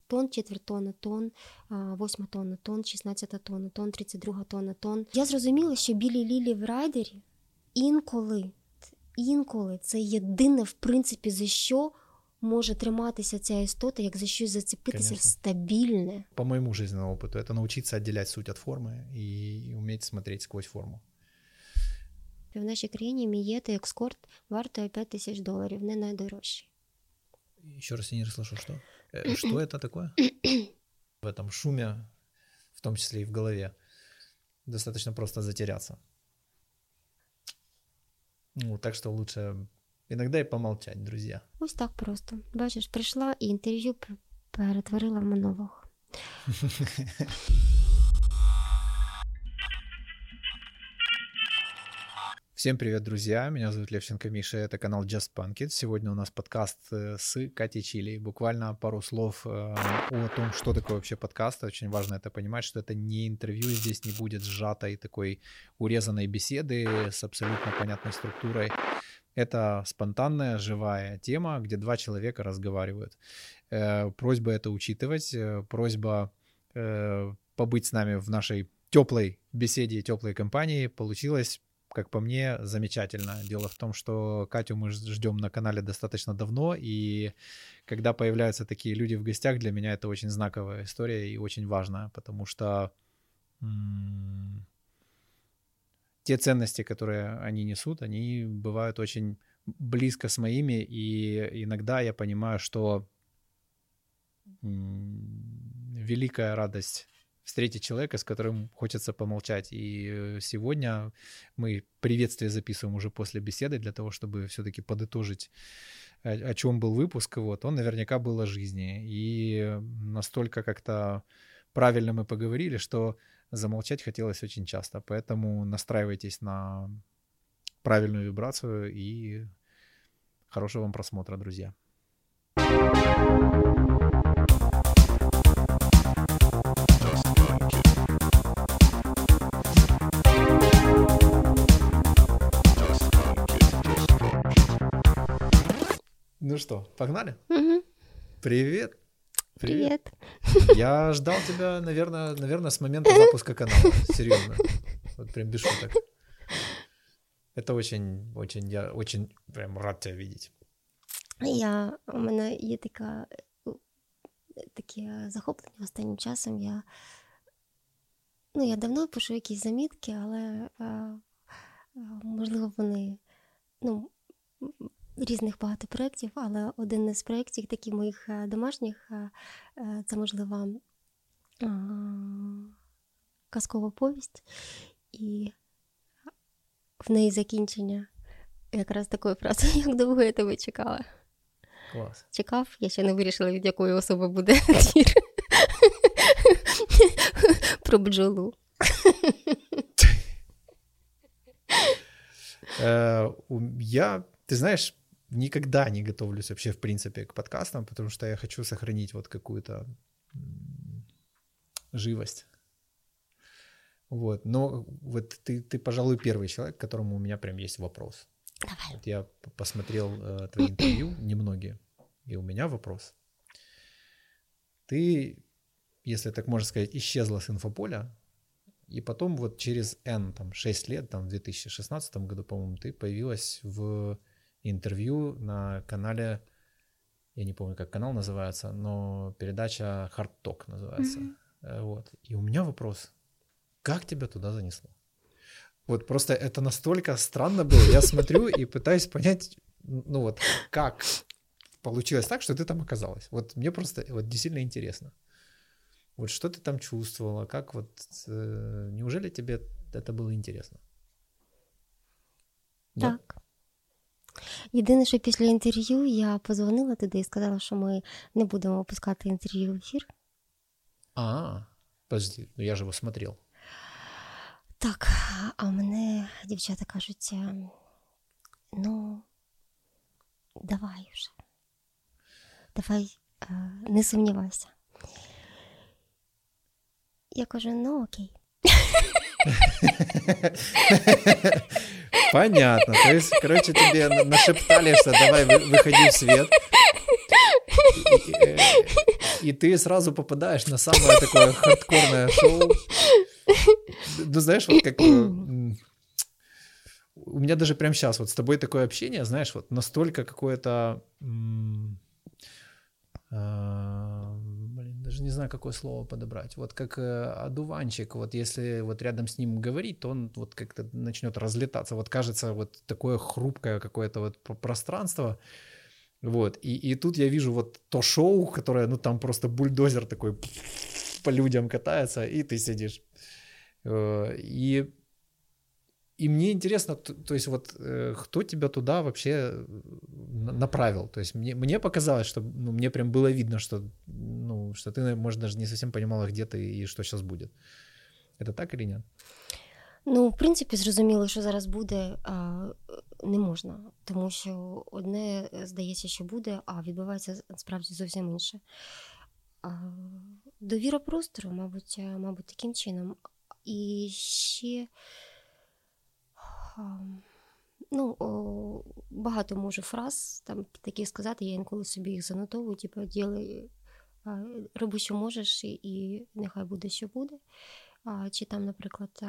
тонн, четверть тонни тонн, 8 тонна тонн, 16 тонна тонн, 32 тонна тонн. Я зрозуміла, що білі лілії в райдері інколи це єдине, в принципі, за що може триматися ця істота, як за щось зацепитися. Конечно. Стабільне. По моему жизненному опыту, это научиться отделять суть от формы и уметь смотреть сквозь форму. В нашій країні Мієта Екскорт вартує $5000, не найдорожчий. Еще раз я не расслышу, что? Что это такое? В этом шуме, в том числе и в голове, достаточно просто затеряться. Ну, так что лучше иногда и помолчать, друзья. Ось так просто. Бачиш, прийшла і інтерв'ю перетворила в монолог. Всем привет, друзья! Меня зовут Левченко Миша, это канал Just Punk It. Сегодня у нас подкаст с Катей Чили. Буквально пару слов о том, что такое вообще подкаст. Очень важно это понимать, что это не интервью, здесь не будет сжатой такой урезанной беседы с абсолютно понятной структурой. Это спонтанная, живая тема, где два человека разговаривают. Просьба это учитывать, просьба побыть с нами в нашей теплой беседе, теплой компании. Получилось, как по мне, замечательно. Дело в том, что Катю мы ждем на канале достаточно давно, и когда появляются такие люди в гостях, для меня это очень знаковая история и очень важная, потому что те ценности, которые они несут, они бывают очень близко с моими, и иногда я понимаю, что великая радость встретить человека, с которым хочется помолчать. И сегодня мы приветствие записываем уже после беседы для того, чтобы все-таки подытожить, о чем был выпуск. Вот. Он наверняка был о жизни. И настолько как-то правильно мы поговорили, что замолчать хотелось очень часто. Поэтому настраивайтесь на правильную вибрацию и хорошего вам просмотра, друзья. Ну что, погнали? Угу. Привет. Привет. Я ждал тебя, наверное, с момента запуска канала. Серьезно. Вот прям без шуток. Это я очень прям рад тебя видеть. У мене є таке захоплення останнім часом. Я давно пишу якісь замітки, але можливо вони різних багато проєктів, але один із проєктів, таких моїх домашніх, це, можливо, казкова повість, і в неї закінчення якраз такою фразою: як довго я тебе чекала. Клас. Чекав, я ще не вирішила, від якої особи буде твір. Про бджолу. Ты знаешь, никогда не готовлюсь вообще, в принципе, к подкастам, потому что я хочу сохранить вот какую-то живость. Вот. Но вот ты, пожалуй, первый человек, к которому у меня прям есть вопрос. Давай. Вот я посмотрел твои интервью, немногие, и у меня вопрос. Ты, если так можно сказать, исчезла с инфополя, и потом вот через 6 лет, в 2016 году, по-моему, ты появилась в интервью на канале, я не помню, как канал называется, но передача Hard Talk называется. Mm-hmm. Вот. И у меня вопрос: как тебя туда занесло? Вот просто это настолько странно было. Я смотрю и пытаюсь понять, как получилось так, что ты там оказалась. Вот мне просто действительно интересно. Вот что ты там чувствовала, как неужели тебе это было интересно? Так. Да? Єдине, що після інтерв'ю я позвонила туди і сказала, що ми не будемо випускати інтерв'ю в ефір. Подожди, я же его смотрел. Так, а мене дівчата кажуть: давай вже. Давай, не сумнівайся. Я кажу: окей. Понятно. То есть, короче, тебе нашептали, что давай выходи в свет. и ты сразу попадаешь на самое такое хардкорное шоу. Ну, знаешь, вот как... У меня даже прямо сейчас вот с тобой такое общение, знаешь, вот настолько какое-то... даже не знаю, какое слово подобрать. Вот как одуванчик, вот если вот рядом с ним говорить, то он вот как-то начнет разлетаться. Вот кажется, вот такое хрупкое какое-то вот пространство. Вот. И тут я вижу вот то шоу, которое, ну, там просто бульдозер такой по людям катается, и ты сидишь. И мне интересно, то есть вот кто тебя туда вообще направил? То есть мне показалось, что ну, мне прям было видно, что, ну, что ты, может, даже не совсем понимала, где ты и що зараз буде. Это так или ні? Ну, в принципі, зрозуміло, що зараз буде, не можна. Тому що одне здається, що буде, а відбувається справді зовсім інше. Довіра простору, мабуть, таким чином. І ще... Ну, багато можу фраз там таких сказати, я інколи собі їх занотовую, типу, роби, що можеш, і нехай буде, що буде. Чи там, наприклад,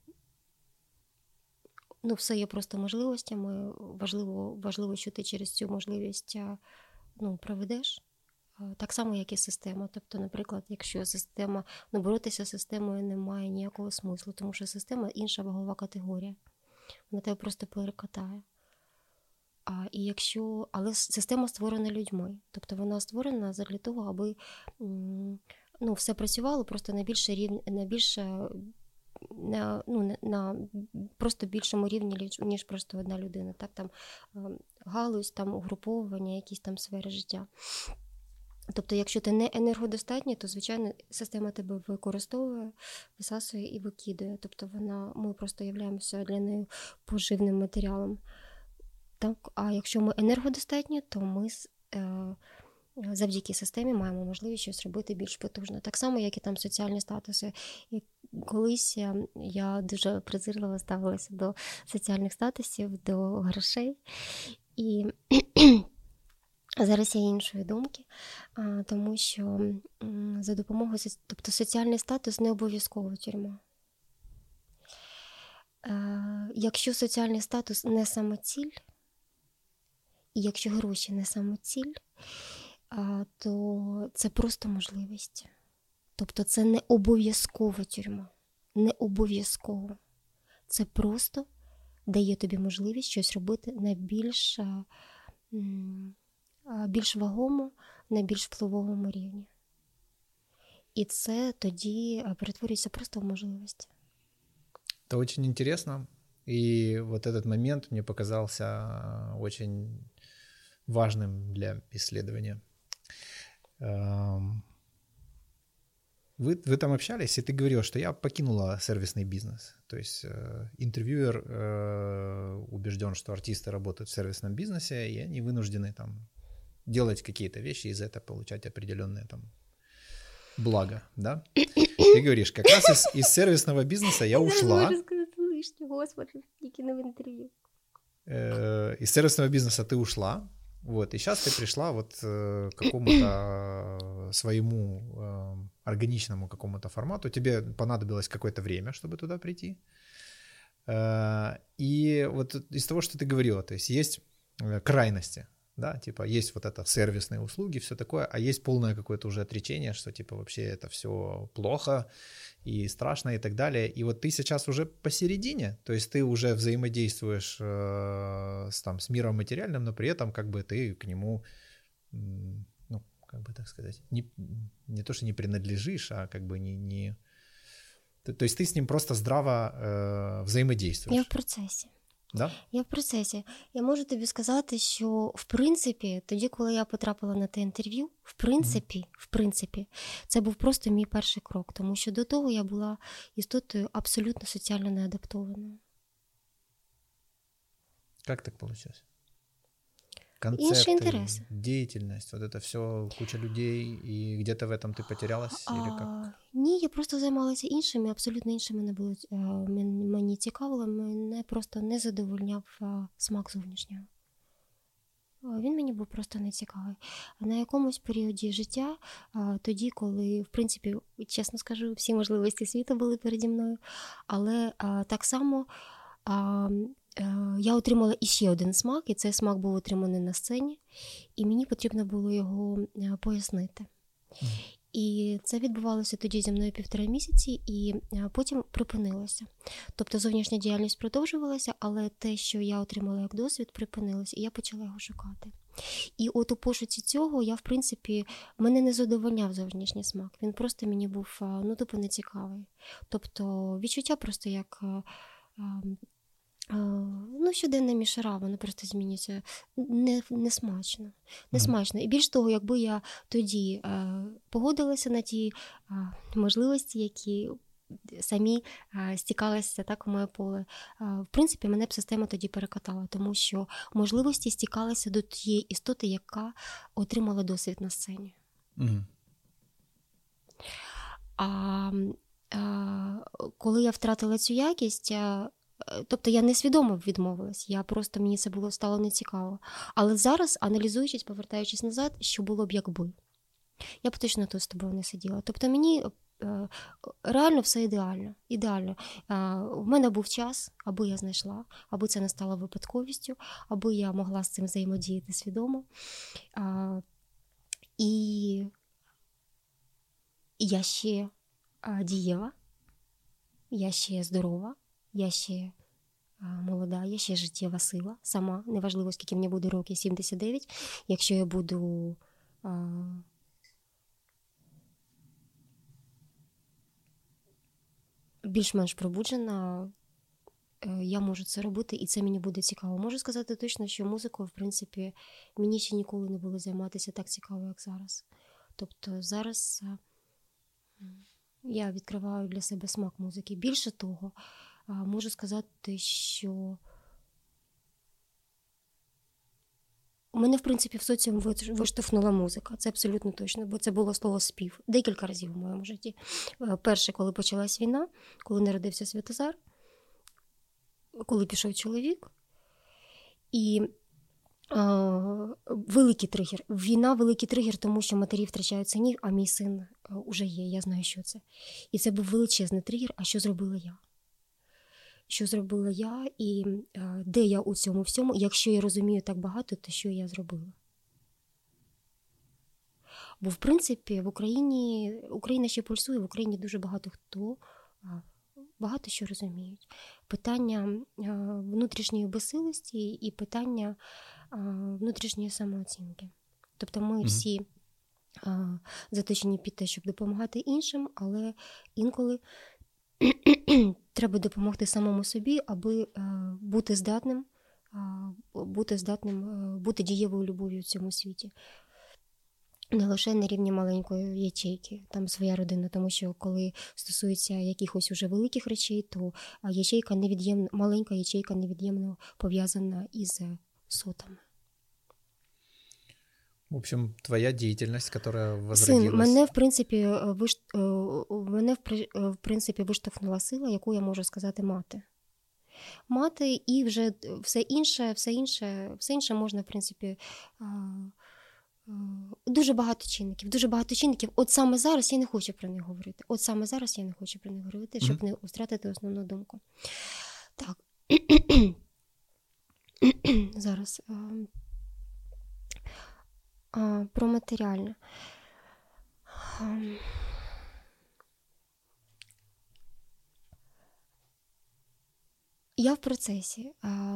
ну, все є просто можливостями, важливо, що ти через цю можливість, ну, проведеш. Так само, як і система. Тобто, наприклад, якщо система, ну, боротися з системою немає ніякого смислу, тому що система – інша вагова категорія. Вона тебе просто перекатає. Але система створена людьми. Тобто вона створена для того, аби ну, все працювало просто на просто більшому рівні, ніж просто одна людина. Так, там галузь, там угруповування, якісь там сфери життя. Тобто, якщо ти не енергодостатній, то, звичайно, система тебе використовує, висасує і викидує. Тобто ми просто являємося для неї поживним матеріалом. Так? А якщо ми енергодостатні, то ми завдяки системі маємо можливість щось робити більш потужно. Так само, як і там соціальні статуси. І колись я дуже презирливо ставилася до соціальних статусів, до грошей. І... Зараз я іншої думки, тому що за допомогою, тобто соціальний статус не обов'язково тюрма. Якщо соціальний статус не самоціль, і якщо гроші не самоціль, то це просто можливість. Тобто це не обов'язкова тюрма, не обов'язково. Це просто дає тобі можливість щось робити на більш вагому, на більш впливовому рівні. І це тоді перетворюється просто в можливість. Это очень интересно. И вот этот момент мне показался очень важным для исследования. Вы там общались, и ты говорил, что я покинула сервисный бизнес. То есть интервьюер убежден, что артисты работают в сервисном бизнесе, и они вынуждены там делать какие-то вещи и за это получать определенные там блага, да? Ты говоришь, как раз из сервисного бизнеса я ушла. Господи, тільки не в интервью. Из сервисного бизнеса ты ушла, вот, и сейчас ты пришла вот к какому-то своему органичному какому-то формату. Тебе понадобилось какое-то время, чтобы туда прийти. И вот из того, что ты говорила, то есть есть крайности. Да, типа есть вот это сервисные услуги, все такое, а есть полное какое-то уже отречение, что типа вообще это все плохо и страшно и так далее. И вот ты сейчас уже посередине, то есть ты уже взаимодействуешь с миром материальным, но при этом как бы ты к нему, ну, как бы так сказать, не то, что не принадлежишь, а как бы не... То есть ты с ним просто здраво взаимодействуешь. Я в процесі. Да? Я в процесі. Я можу тобі сказати, що в принципі, тоді, коли я потрапила на те інтерв'ю, в принципі, це був просто мій перший крок, тому що до того я була істотою абсолютно соціально неадаптованою. Как так получилось? Інші інтереси. Деятельность, вот это все, куча людей, и где-то в этом ты потерялась? Или как? Ні, я просто займалася іншими, абсолютно іншими мені цікавило, мене просто не задовольняв смак зовнішнього. він мені був просто не цікавий. На якомусь періоді життя, тоді, коли, в принципі, чесно скажу, всі можливості світу були переді мною, але так само я отримала іще один смак, і цей смак був отриманий на сцені, і мені потрібно було його пояснити. І це відбувалося тоді зі мною 1,5 місяці, і потім припинилося. Тобто зовнішня діяльність продовжувалася, але те, що я отримала як досвід, припинилося, і я почала його шукати. І от у пошуці цього я, в принципі, мене не задовольняв зовнішній смак. Він просто мені був, тупо нецікавий. Тобто відчуття просто як щоденна мішара, воно просто змінюється несмачно. Несмачно. І більш того, якби я тоді погодилася на ті можливості, які самі стікалися так у моє поле, в принципі, мене б система тоді перекатала, тому що можливості стікалися до тієї істоти, яка отримала досвід на сцені. Коли я втратила цю якість, тобто я несвідомо відмовилась, мені це стало нецікаво. Але зараз, аналізуючись, повертаючись назад, що було б якби. Я б точно тут з тобою не сиділа. Тобто мені реально все ідеально. В мене був час, аби я знайшла, аби це не стало випадковістю, аби я могла з цим взаємодіяти свідомо. І я ще дієва, я ще здорова, я ще молода, я ще життєва сила сама. Неважливо, скільки мені буде років, 79. Якщо я буду більш-менш пробуджена, я можу це робити, і це мені буде цікаво. Можу сказати точно, що музикою, в принципі, мені ще ніколи не було займатися так цікаво, як зараз. Тобто зараз я відкриваю для себе смак музики. Більше того, можу сказати, що мене, в принципі, в соціум виштовхнула музика. Це абсолютно точно, бо це було слово «спів» декілька разів в моєму житті. Перше, коли почалась війна, коли народився Святозар, коли пішов чоловік. І великий тригер. Війна – великий тригер, тому що матері втрачають синів, а мій син уже є, я знаю, що це. І це був величезний тригер, а що зробила я? Що зробила я і де я у цьому всьому? Якщо я розумію так багато, то що я зробила? Бо, в принципі, в Україна ще пульсує, в Україні дуже багато хто, багато що розуміють. Питання внутрішньої безсилості і питання внутрішньої самооцінки. Тобто ми всі заточені під те, щоб допомагати іншим, але інколи треба допомогти самому собі, аби бути здатним, бути дієвою любов'ю в цьому світі. Не лише на рівні маленької ячейки, там своя родина, тому що коли стосується якихось уже великих речей, то маленька ячейка невід'ємно пов'язана із сотами. В общем, твоя деятельность, которая возродилась... Мене, в принципі, виштовхнула сила, яку я можу сказати мати. Мати і вже все інше можна, в принципі, дуже багато чинників. От саме зараз я не хочу про них говорити. Щоб не втратити основну думку. Так. Зараз... Про матеріальне. Я в процесі.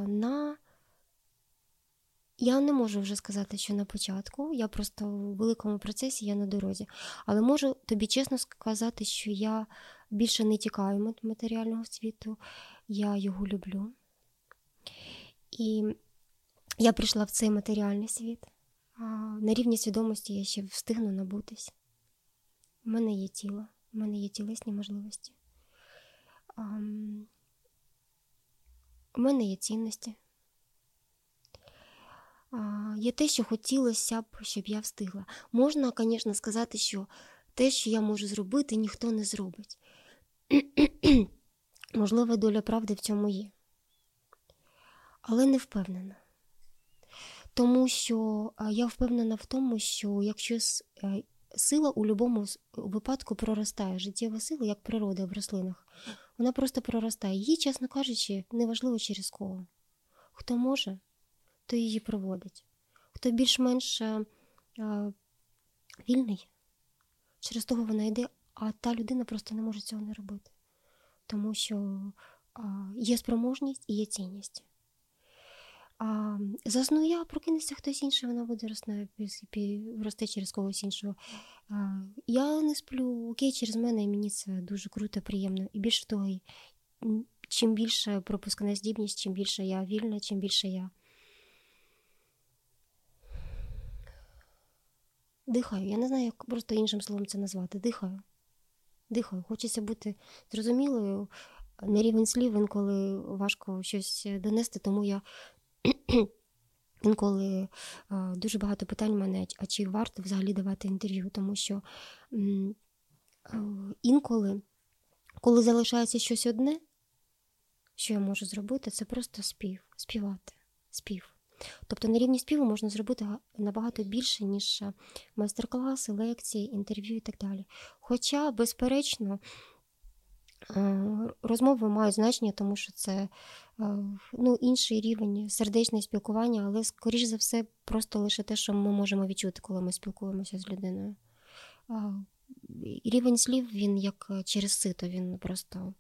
Я не можу вже сказати, що на початку. Я просто в великому процесі, я на дорозі. Але можу тобі чесно сказати, що я більше не тікаю від матеріального світу. Я його люблю. І я прийшла в цей матеріальний світ. На рівні свідомості я ще встигну набутись. У мене є тіло, у мене є тілесні можливості. У мене є цінності. Є те, що хотілося б, щоб я встигла. Можна, звісно, сказати, що те, що я можу зробити, ніхто не зробить. Можливо, доля правди в цьому є. Але не впевнена. Тому що я впевнена в тому, що якщо сила у будь-якому випадку проростає, життєва сила, як природа в рослинах, вона просто проростає. Її, чесно кажучи, неважливо через кого. Хто може, то її проводить. Хто більш-менш вільний, через того вона йде, а та людина просто не може цього не робити. Тому що є спроможність і є цінність. Засну я, прокинеться хтось інший, вона буде рости через когось іншого. Я не сплю, окей, через мене, і мені це дуже круто, приємно. І більше того, чим більше пропускна здібність, чим більше я вільна, чим більше я дихаю. Я не знаю, як просто іншим словом це назвати. Дихаю. Хочеться бути зрозумілою. На рівень слів інколи важко щось донести, тому я інколи дуже багато питань в мене, а чи варто взагалі давати інтерв'ю, тому що інколи, коли залишається щось одне, що я можу зробити, це просто співати. Тобто на рівні співу можна зробити набагато більше, ніж майстер-класи, лекції, інтерв'ю і так далі. Хоча, безперечно, розмови мають значення, тому що це інший рівень сердечне спілкування, але, скоріш за все, просто лише те, що ми можемо відчути, коли ми спілкуємося з людиною. Рівень слів, він як через сито, він просто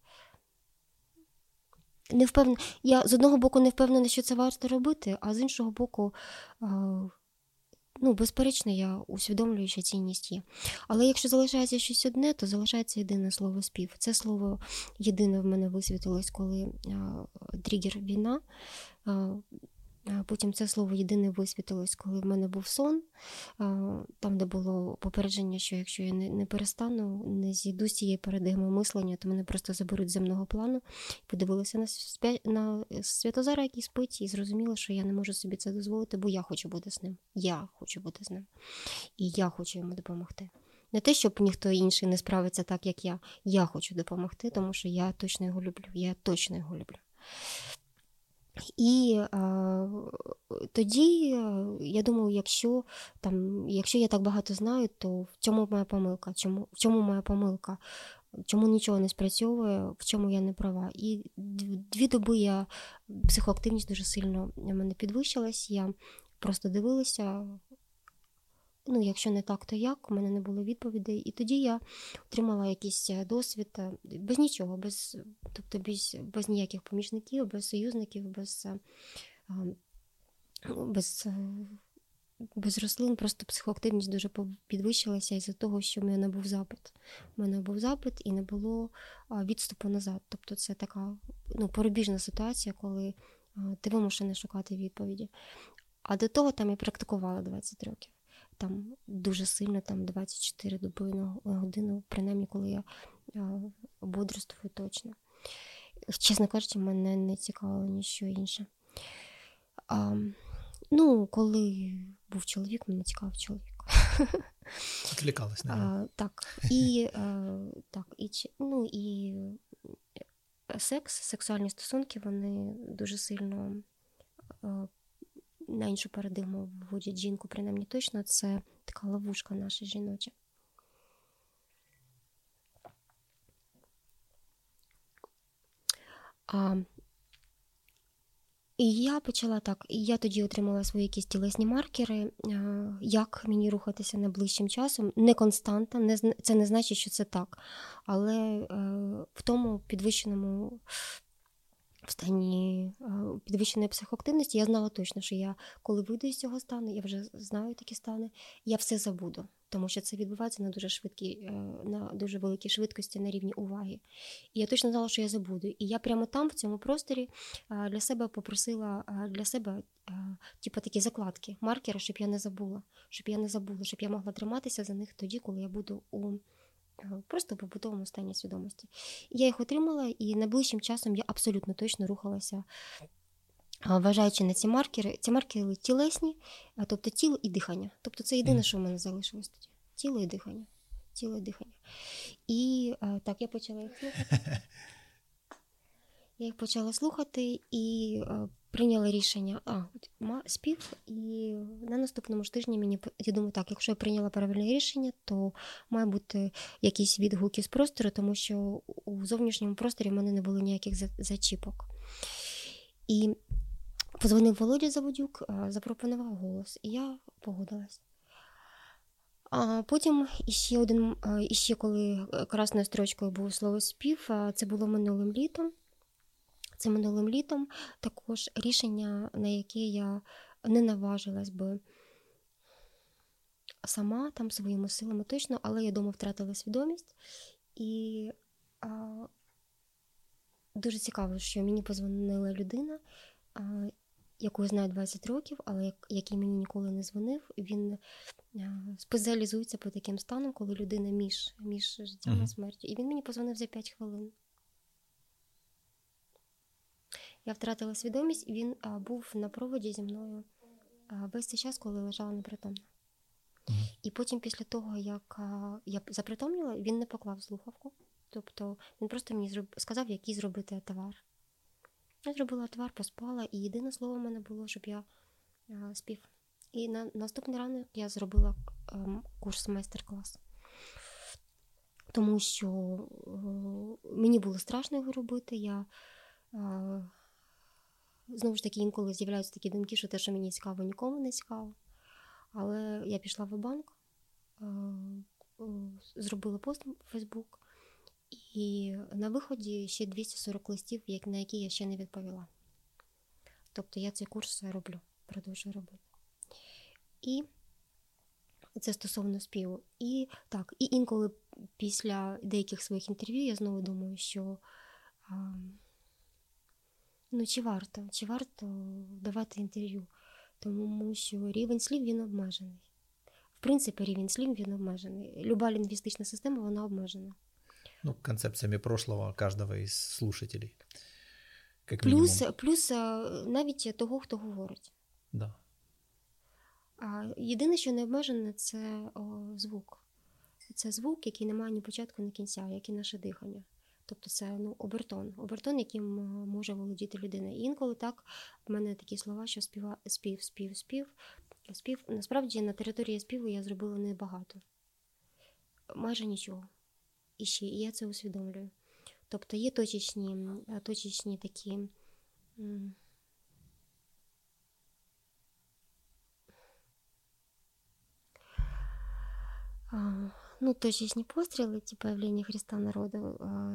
не впевнена. Я з одного боку не впевнена, що це варто робити, а з іншого боку, безперечно, я усвідомлюю, що цінність є. Але якщо залишається щось одне, то залишається єдине слово спів. Це слово єдине в мене висвітилось, коли тригер війна. Потім це слово єдине висвітилось, коли в мене був сон, там, де було попередження, що якщо я не перестану, не зійду з цієї парадигми мислення, то мене просто заберуть з земного плану. Подивилася на Святозара, який спить, і зрозуміла, що я не можу собі це дозволити, бо я хочу бути з ним. Я хочу бути з ним. І я хочу йому допомогти. Не те, щоб ніхто інший не справиться так, як я. Я хочу допомогти, тому що я точно його люблю. І тоді, я думаю, якщо я так багато знаю, то в чому моя помилка? Чому нічого не спрацьовує, в чому я не права? І 2 доби психоактивність дуже сильно в мене підвищилась, я просто дивилася, якщо не так, то як, у мене не було відповідей. І тоді я отримала якийсь досвід без нічого, без ніяких помічників, без союзників, без рослин, просто психоактивність дуже підвищилася із-за того, що в мене був запит. У мене був запит і не було відступу назад. Тобто це така порубіжна ситуація, коли ти вимушений шукати відповіді. А до того там я практикувала 20 років. Там дуже сильно, 24 доби на годину, принаймні, коли я бодрствую точно. Чесно кажучи, мене не цікавило ніщо інше. Коли був чоловік, мене цікавив чоловік. Відвлікалась, навіть. Так. І сексуальні стосунки, вони дуже сильно на іншу парадигму вводять жінку, принаймні точно, це така ловушка наша жіноча. І я почала так, і я тоді отримала свої якісь тілесні маркери, як мені рухатися найближчим часом. Не константа, це не значить, що це так, але в тому підвищеному в стані підвищеної психоактивності я знала точно, що я, коли вийду з цього стану, я вже знаю такі стани, я все забуду, тому що це відбувається на дуже великій швидкості на рівні уваги. І я точно знала, що я забуду. І я прямо там, в цьому просторі, для себе попросила, такі закладки, маркери, щоб я не забула, щоб я могла триматися за них тоді, коли я буду просто в побутовому стані свідомості. Я їх отримала, і найближчим часом я абсолютно точно рухалася, вважаючи на ці маркери. Ці маркери тілесні, тобто тіло і дихання. Тобто це єдине, що в мене залишилось тоді. Тіло і дихання. І так, я почала їх слухати. І прийняла рішення, спів, і на наступному ж тижні я думаю, так, якщо я прийняла правильне рішення, то має бути якісь відгуки з простору, тому що у зовнішньому просторі в мене не було ніяких зачіпок. І подзвонив Володя Заводюк, запропонував голос, і я погодилась. А потім іще коли красною строчкою було слово спів, це було минулим літом. Також рішення, на яке я не наважилась би сама, там своїми силами точно, але я дома втратила свідомість. І дуже цікаво, що мені позвонила людина, яку я знаю 20 років, але який мені ніколи не дзвонив. Він спеціалізується по таким станам, коли людина між життям і смертю. І він мені позвонив за 5 хвилин. Я втратила свідомість, і він був на проводі зі мною весь цей час, коли лежала непритомна. І потім, після того, як я запритомніла, він не поклав слухавку. Тобто він просто мені сказав, який зробити отвар. Я зробила отвар, поспала, і єдине слово в мене було, щоб я спів. І на наступний ранок я зробила курс майстер-клас. Тому що мені було страшно його робити. Я знову ж таки, інколи з'являються такі думки, що те, що мені цікаво, нікому не цікаво. Але я пішла в банк, зробила пост у Фейсбук, і на виході ще 240 листів, на які я ще не відповіла. Тобто я цей курс продовжую робити. І це стосовно співу. І інколи після деяких своїх інтерв'ю я знову думаю, що чи варто давати інтерв'ю, тому що рівень слів, він обмежений. В принципі, рівень слів, він обмежений. Люба лінгвістична система, вона обмежена. Концепциями прошлого каждого из слушателей, как плюс навіть того, хто говорить. Да. Єдине, що не обмежене, це звук. Це звук, який не має ні початку, ні кінця, як і наше дихання. Тобто це обертон, яким може володіти людина. І інколи так в мене такі слова, що спів. Насправді на території співу я зробила небагато. Майже нічого. І я це усвідомлюю. Тобто є точечні такі точечні постріли, ті появлення Христа народу.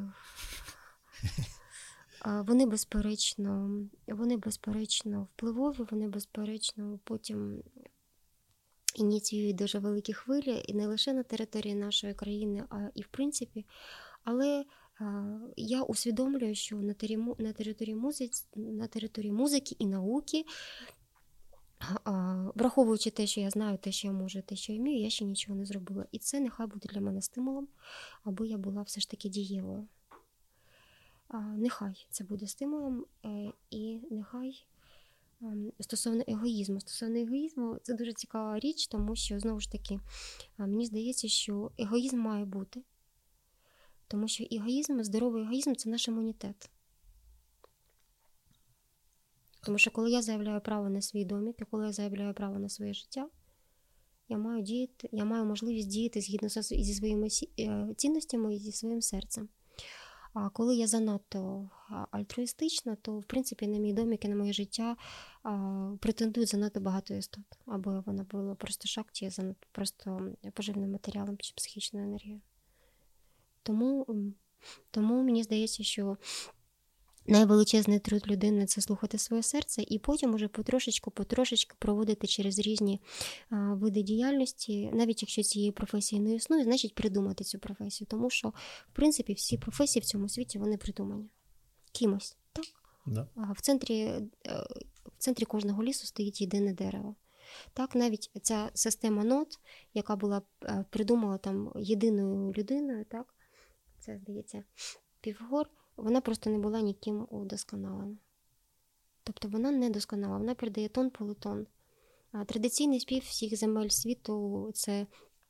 Вони безперечно впливові, вони безперечно потім ініціюють дуже великі хвилі, і не лише на території нашої країни, а і в принципі. Але я усвідомлюю, що на території музики і науки, враховуючи те, що я знаю, те, що я можу, те, що я вмію, я ще нічого не зробила. І це нехай буде для мене стимулом, аби я була все ж таки дієвою. Нехай це буде стимулом, і нехай стосовно егоїзму, це дуже цікава річ, тому що, знову ж таки, мені здається, що егоїзм має бути, тому що здоровий егоїзм – це наш імунітет. Тому що коли я заявляю право на свій домік, і коли я заявляю право на своє життя, я маю можливість діяти згідно зі своїми цінностями і зі своїм серцем. А коли я занадто альтруїстична, то, в принципі, на мій домік і на моє життя претендують занадто багато істот. Або вона була просто шакті, занадто просто поживним матеріалом чи психічною енергією. Тому мені здається, що найвеличезний труд людини – це слухати своє серце і потім уже потрошечку проводити через різні види діяльності. Навіть якщо цієї професії не існує, значить придумати цю професію. Тому що, в принципі, всі професії в цьому світі, вони придумані. Кимось, так? Да. В центрі кожного лісу стоїть єдине дерево. Так, навіть ця система нот, яка була придумала там єдиною людиною, так? Це, здається, Піфагор, вона просто не була ніким удосконалена. Тобто вона не досконала, вона передає тон полутон. Традиційний спів всіх земель світу – це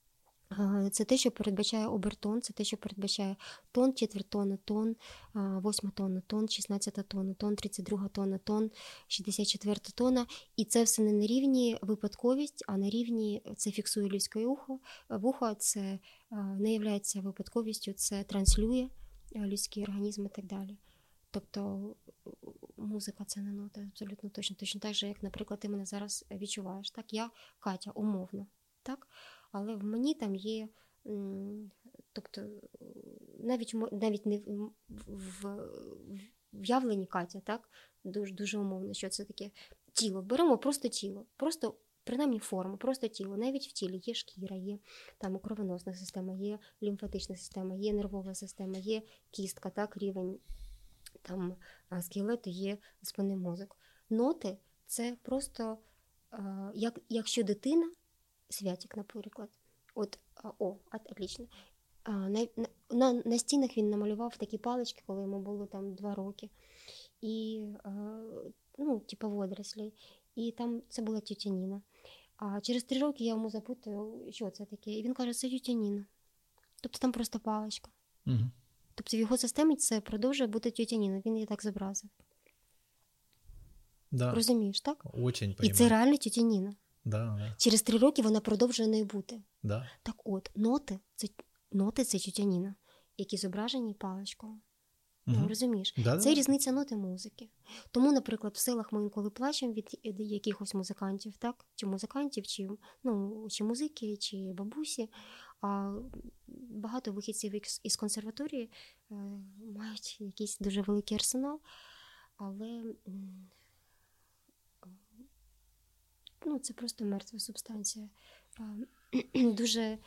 Це те, що передбачає обертон, це те, що передбачає тон, четвертона, тон, 8 тонна, тон, 16 тонна, тон, 32 тонна, тон, 64 тонна. І це все не на рівні випадковість, а на рівні це фіксує людське вухо, це не є випадковістю, це транслює людський організм і так далі. Тобто музика – це не нота, абсолютно точно так же, як, наприклад, ти мене зараз відчуваєш. Так, я Катя, умовно, так? Але в мені там є, тобто навіть не в в'явленні Катя, так? Дуже умовно, що це таке тіло. Беремо просто тіло, просто принаймні форму, просто тіло. Навіть в тілі є шкіра, є там кровоносна система, є лімфатична система, є нервова система, є кістка, так, рівень там скелету, є спинний мозок. Ноти – це просто, якщо дитина, Святик, наприклад, отлично. На стінах він намалював такі палички, коли йому було там 2 роки. І, типу водорослі. І там це була тітя Ніна. А через 3 роки я йому запитую, що це таке. І він каже, це тітя Ніна. Тобто там просто паличка. Угу. Тобто в його системі це продовжує бути тітя Ніна. Він її так зобразив. Да. Розумієш, так? Очень І це реально тітя Ніна. Да. Через 3 роки вона продовжує нею бути. Да. Так от, ноти – це тітя Ніна, які зображені паличкою. Угу. Розумієш? Да, це різниця ноти музики. Тому, наприклад, в селах ми інколи плачемо від якихось музикантів, так? Чи музикантів, чи музики, чи бабусі. А багато вихідців із консерваторії мають якийсь дуже великий арсенал, але це просто мертва субстанція. Дуже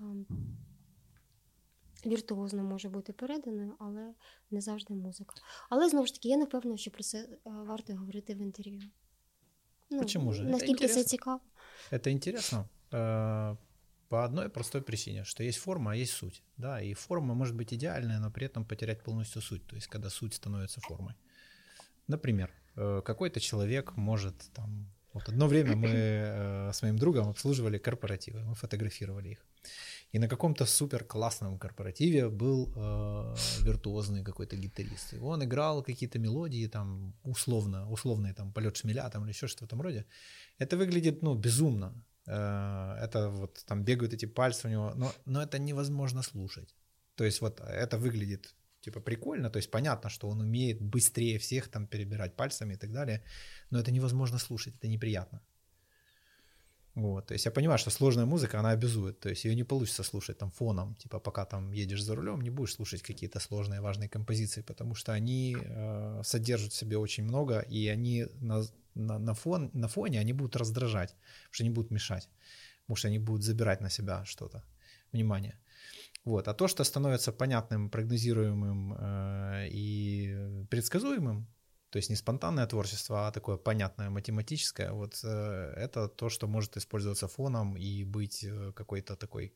віртуозно може бути переданою, але не завжди музика. Але, знову ж таки, я не впевнена, що про це варто говорити в інтерв'ю. Почему же? Наскільки це цікаво? Это интересно по одной простой причине, что есть форма, а есть суть. Да? И форма может быть идеальная, но при этом потерять полностью суть. То есть, когда суть становится формой. Например, какой-то человек может там... Вот одно время мы с моим другом обслуживали корпоративы, мы фотографировали их. И на каком-то супер классном корпоративе был виртуозный какой-то гитарист. И он играл какие-то мелодии, там, условные там, полет шмеля там, или еще что-то в этом роде. Это выглядит, безумно. Это вот там бегают эти пальцы у него, но это невозможно слушать. То есть вот это выглядит типа прикольно, то есть понятно, что он умеет быстрее всех там перебирать пальцами и так далее, но это невозможно слушать, это неприятно. Вот, то есть я понимаю, что сложная музыка, она обязует, то есть ее не получится слушать там фоном, типа пока там едешь за рулем, не будешь слушать какие-то сложные важные композиции, потому что они содержат в себе очень много, и они на фоне они будут раздражать, потому что они будут мешать, потому что они будут забирать на себя что-то, внимание. Вот. А то, что становится понятным, прогнозируемым и предсказуемым, то есть не спонтанное творчество, а такое понятное, математическое, вот это то, что может использоваться фоном и быть какой-то такой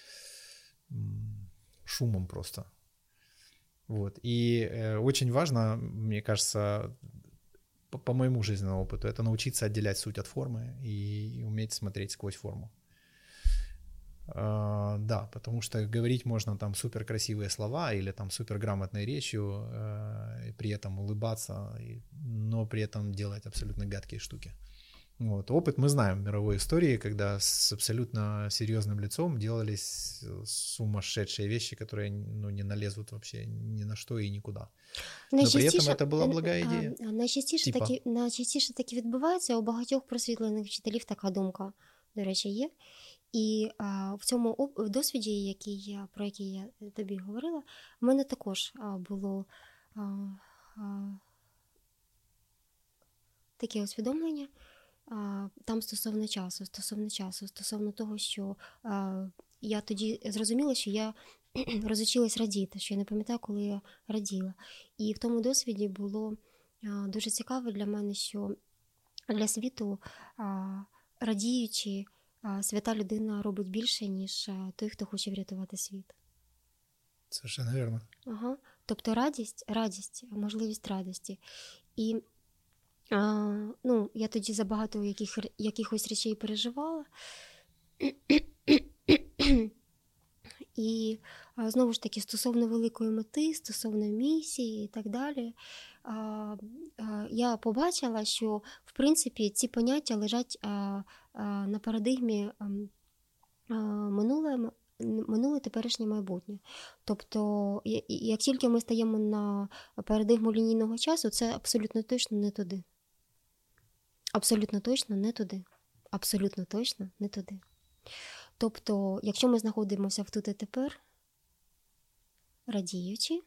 шумом просто. Вот. И очень важно, мне кажется, по моему жизненному опыту, это научиться отделять суть от формы и уметь смотреть сквозь форму. Да, потому что говорить можно там супер красивые слова или там супер грамотной речью, и при этом улыбаться, но при этом делать абсолютно гадкие штуки. Вот. Опыт мы знаем в мировой истории, когда с абсолютно серьезным лицом делались сумасшедшие вещи, которые не налезут вообще ни на что и никуда. Но при этом это была благая ідея. Найчастіше таки відбувається, у багатьох просвітлених вчителів така думка, до речі, є. І в цьому досвіді, про який я тобі говорила, в мене також було таке усвідомлення там стосовно часу, стосовно того, що я тоді зрозуміла, що я розучилась радіти, що я не пам'ятаю, коли я раділа. І в тому досвіді було дуже цікаво для мене, що для світу радіючи, свята людина робить більше, ніж той, хто хоче врятувати світ. Совершенно вірно. Ага. Тобто радість, можливість радості. І я тоді забагато якихось речей переживала. І знову ж таки, стосовно великої мети, стосовно місії і так далі, я побачила, що, в принципі, ці поняття лежать на парадигмі минуле, теперішнє, майбутнє. Тобто, як тільки ми стаємо на парадигму лінійного часу, це абсолютно точно не туди. Абсолютно точно не туди. Абсолютно точно не туди. Тобто, якщо ми знаходимося в тут і тепер, радіючи,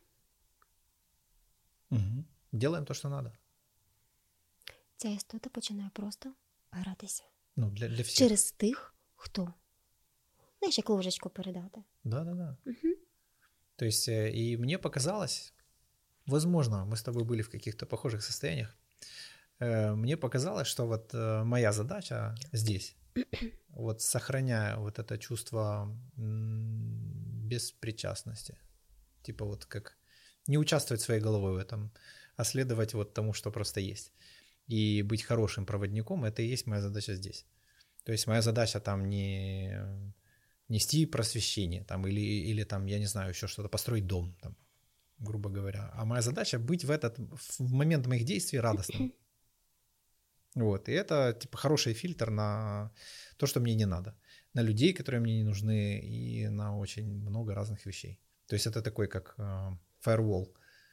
Делаем то, що треба. Ця істота починає просто гратися. Ну, для всіх. Через тих, хто. Знаєш, як ложечку передати. Да. То есть, и мне показалось, возможно, мы с тобой были в каких-то похожих состояниях, мне показалось, что вот моя задача здесь, вот сохраняя вот это чувство беспричастности, типа вот как не участвовать своей головой в этом, а следовать вот тому, что просто есть. И быть хорошим проводником, это и есть моя задача здесь. То есть моя задача там не нести просвещение там, или там, я не знаю, еще что-то, построить дом, там, грубо говоря. А моя задача быть в момент моих действий радостным. Вот. И это типа хороший фильтр на то, что мне не надо. На людей, которые мне не нужны, и на очень много разных вещей. То есть это такой как firewall.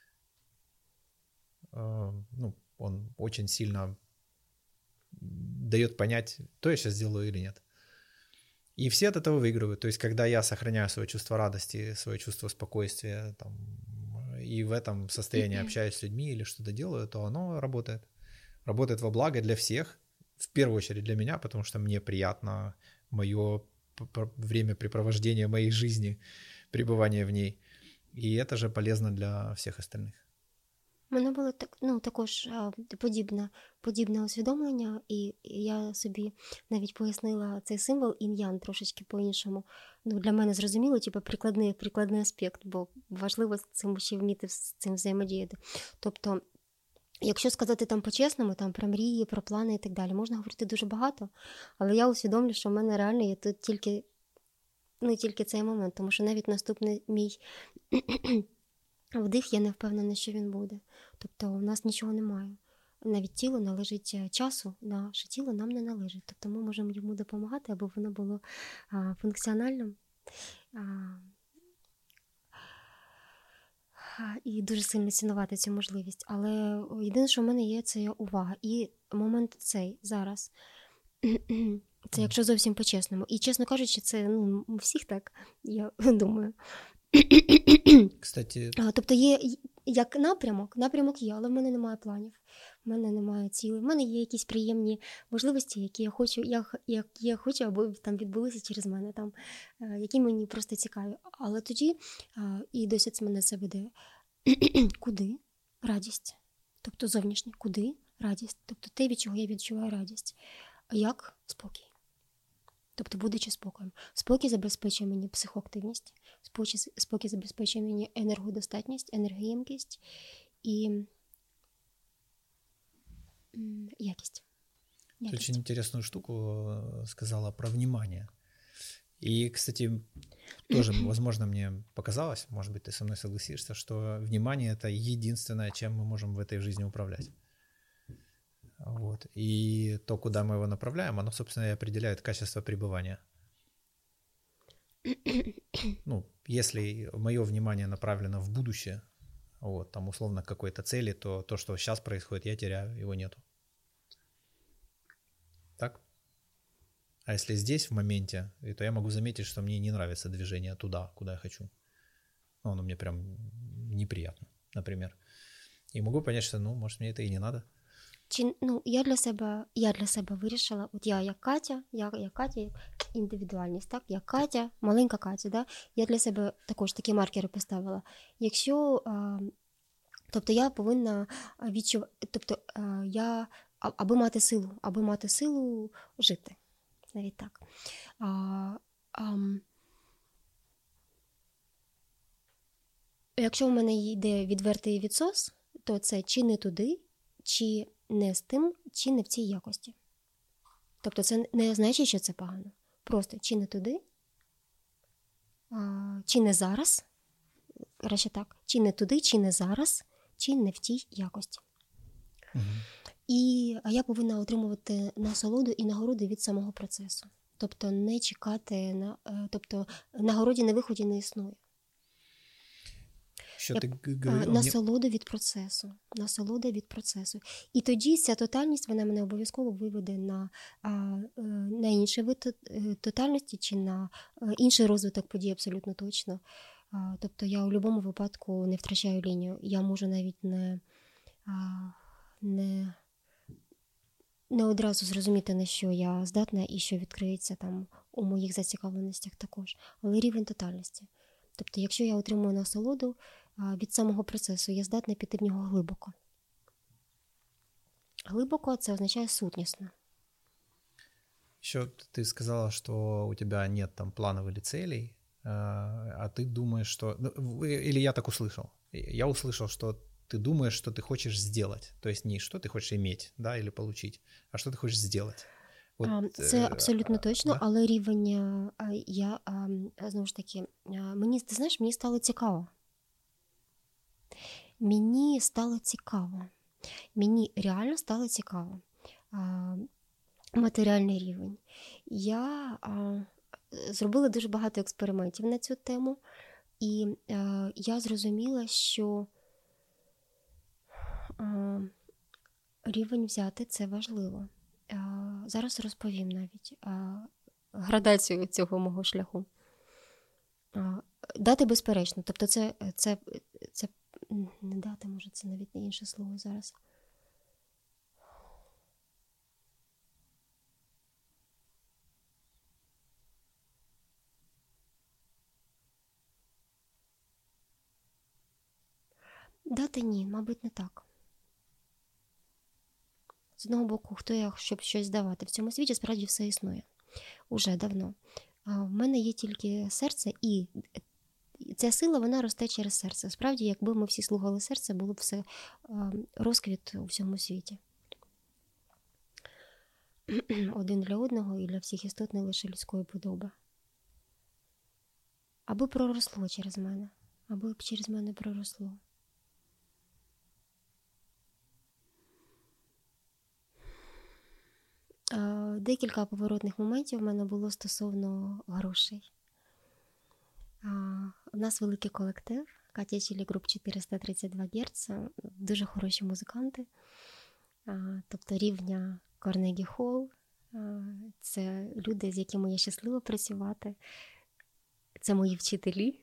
Ну, он очень сильно дает понять, то я сейчас сделаю или нет. И все от этого выигрывают. То есть когда я сохраняю свое чувство радости, свое чувство спокойствия, там, и в этом состоянии общаюсь с людьми или что-то делаю, то оно работает. Работает во благо для всех, в первую очередь для меня, потому что мне приятно мое времяпрепровождение моей жизни, пребывание в ней. И это же полезно для всех остальных. У мене було також подібне усвідомлення, і я собі навіть пояснила цей символ інь-ян трошечки по-іншому. Для мене зрозуміло, типу, прикладний аспект, бо важливо з цим ще вміти з цим взаємодіяти. Тобто, якщо сказати там по-чесному, там про мрії, про плани і так далі, можна говорити дуже багато, але я усвідомлю, що в мене реально є тут тільки цей момент, тому що навіть наступний мій вдих, я не впевнена, що він буде. Тобто у нас нічого немає. Навіть тіло належить часу, наше тіло нам не належить. Тобто ми можемо йому допомагати, аби воно було функціональним. І дуже сильно цінувати цю можливість. Але єдине, що в мене є, це увага. І момент цей зараз. Це якщо зовсім по-чесному. І, чесно кажучи, це у всіх так, я думаю. Кстати... Тобто є як напрямок є, але в мене немає планів, в мене немає цілей, в мене є якісь приємні можливості, які я хочу, аби там відбулися через мене, там, які мені просто цікаві. Але тоді, і досі мене це веде, куди? Радість. Тобто зовнішнє, куди? Радість. Тобто те, від чого я відчуваю радість. А як? Спокій. Тобто, будучи спокоєм. Спокій забезпечує мені психоактивність, спокій забезпечує мені енергодостатність, енергоємкість і якість. Ты очень интересную штуку сказала про внимание. И, кстати, тоже, возможно, мне показалось, может быть, ты со мной согласишься, что внимание — это единственное, чем мы можем в этой жизни управлять. Вот. И то, куда мы его направляем, оно, собственно, и определяет качество пребывания. Ну, если мое внимание направлено в будущее, вот, там, условно, к какой-то цели, то то, что сейчас происходит, я теряю, его нету. Так? А если здесь, в моменте, то я могу заметить, что мне не нравится движение туда, куда я хочу. Ну, оно мне прям неприятно, например. И могу понять, что, может, мне это и не надо. Я для себе вирішила, от я як Катя, індивідуальність, так? Я Катя, маленька Катя, да? Я для себе також такі маркери поставила. Якщо, тобто я повинна відчувати, тобто я, аби мати силу жити, навіть так. Якщо в мене йде відвертий відсос, то це чи не туди, чи не з тим, чи не в цій якості. Тобто це не значить, що це погано. Просто чи не туди, чи не зараз, краще так, чи не туди, чи не зараз, чи не в тій якості. І я повинна отримувати насолоду і нагороди від самого процесу. Тобто не чекати, тобто нагороді на виході не існує. Що ти говорила? Насолода від процесу. Насолода від процесу. І тоді ця тотальність, вона мене обов'язково виведе на інший вид тотальності чи на інший розвиток подій абсолютно точно. Тобто я у будь-якому випадку не втрачаю лінію. Я можу навіть не одразу зрозуміти, на що я здатна і що відкриється там у моїх зацікавленостях також. Але рівень тотальності. Тобто, якщо я отримую насолоду від самого процесу, я здатна піти в нього глибоко. Глибоко – це означає сутнісно. Еще ты сказала, что у тебя нет там планов или целей, а ты думаешь, что... Или я так услышал. Я услышал, что ты думаешь, что ты хочешь сделать. То есть не что ты хочешь иметь, да, или получить, а что ты хочешь сделать. Це абсолютно точно, да? Але рівень я, знову ж таки, мені стало цікаво. Мені реально стало цікаво. Матеріальний рівень. Я зробила дуже багато експериментів на цю тему, і я зрозуміла, що рівень взяти – це важливо. Зараз розповім навіть градацію цього мого шляху. Дати безперечно. Тобто це не дати, може, це навіть не інше слово зараз. Дати ні, мабуть, не так. З одного боку, хто я, щоб щось давати? В цьому світі справді все існує. Уже давно. В мене є тільки серце, і ця сила, вона росте через серце. Справді, якби ми всі слухали серце, було б все розквіт у всьому світі. Один для одного і для всіх істот не лише людської подоби. Аби проросло через мене. Аби через мене проросло. Декілька поворотних моментів в мене було стосовно грошей. У нас великий колектив, Катя Чілі Груп 432 Гц, дуже хороші музиканти, тобто рівня Карнегі Холл. Це люди, з якими я щаслива працювати. Це мої вчителі.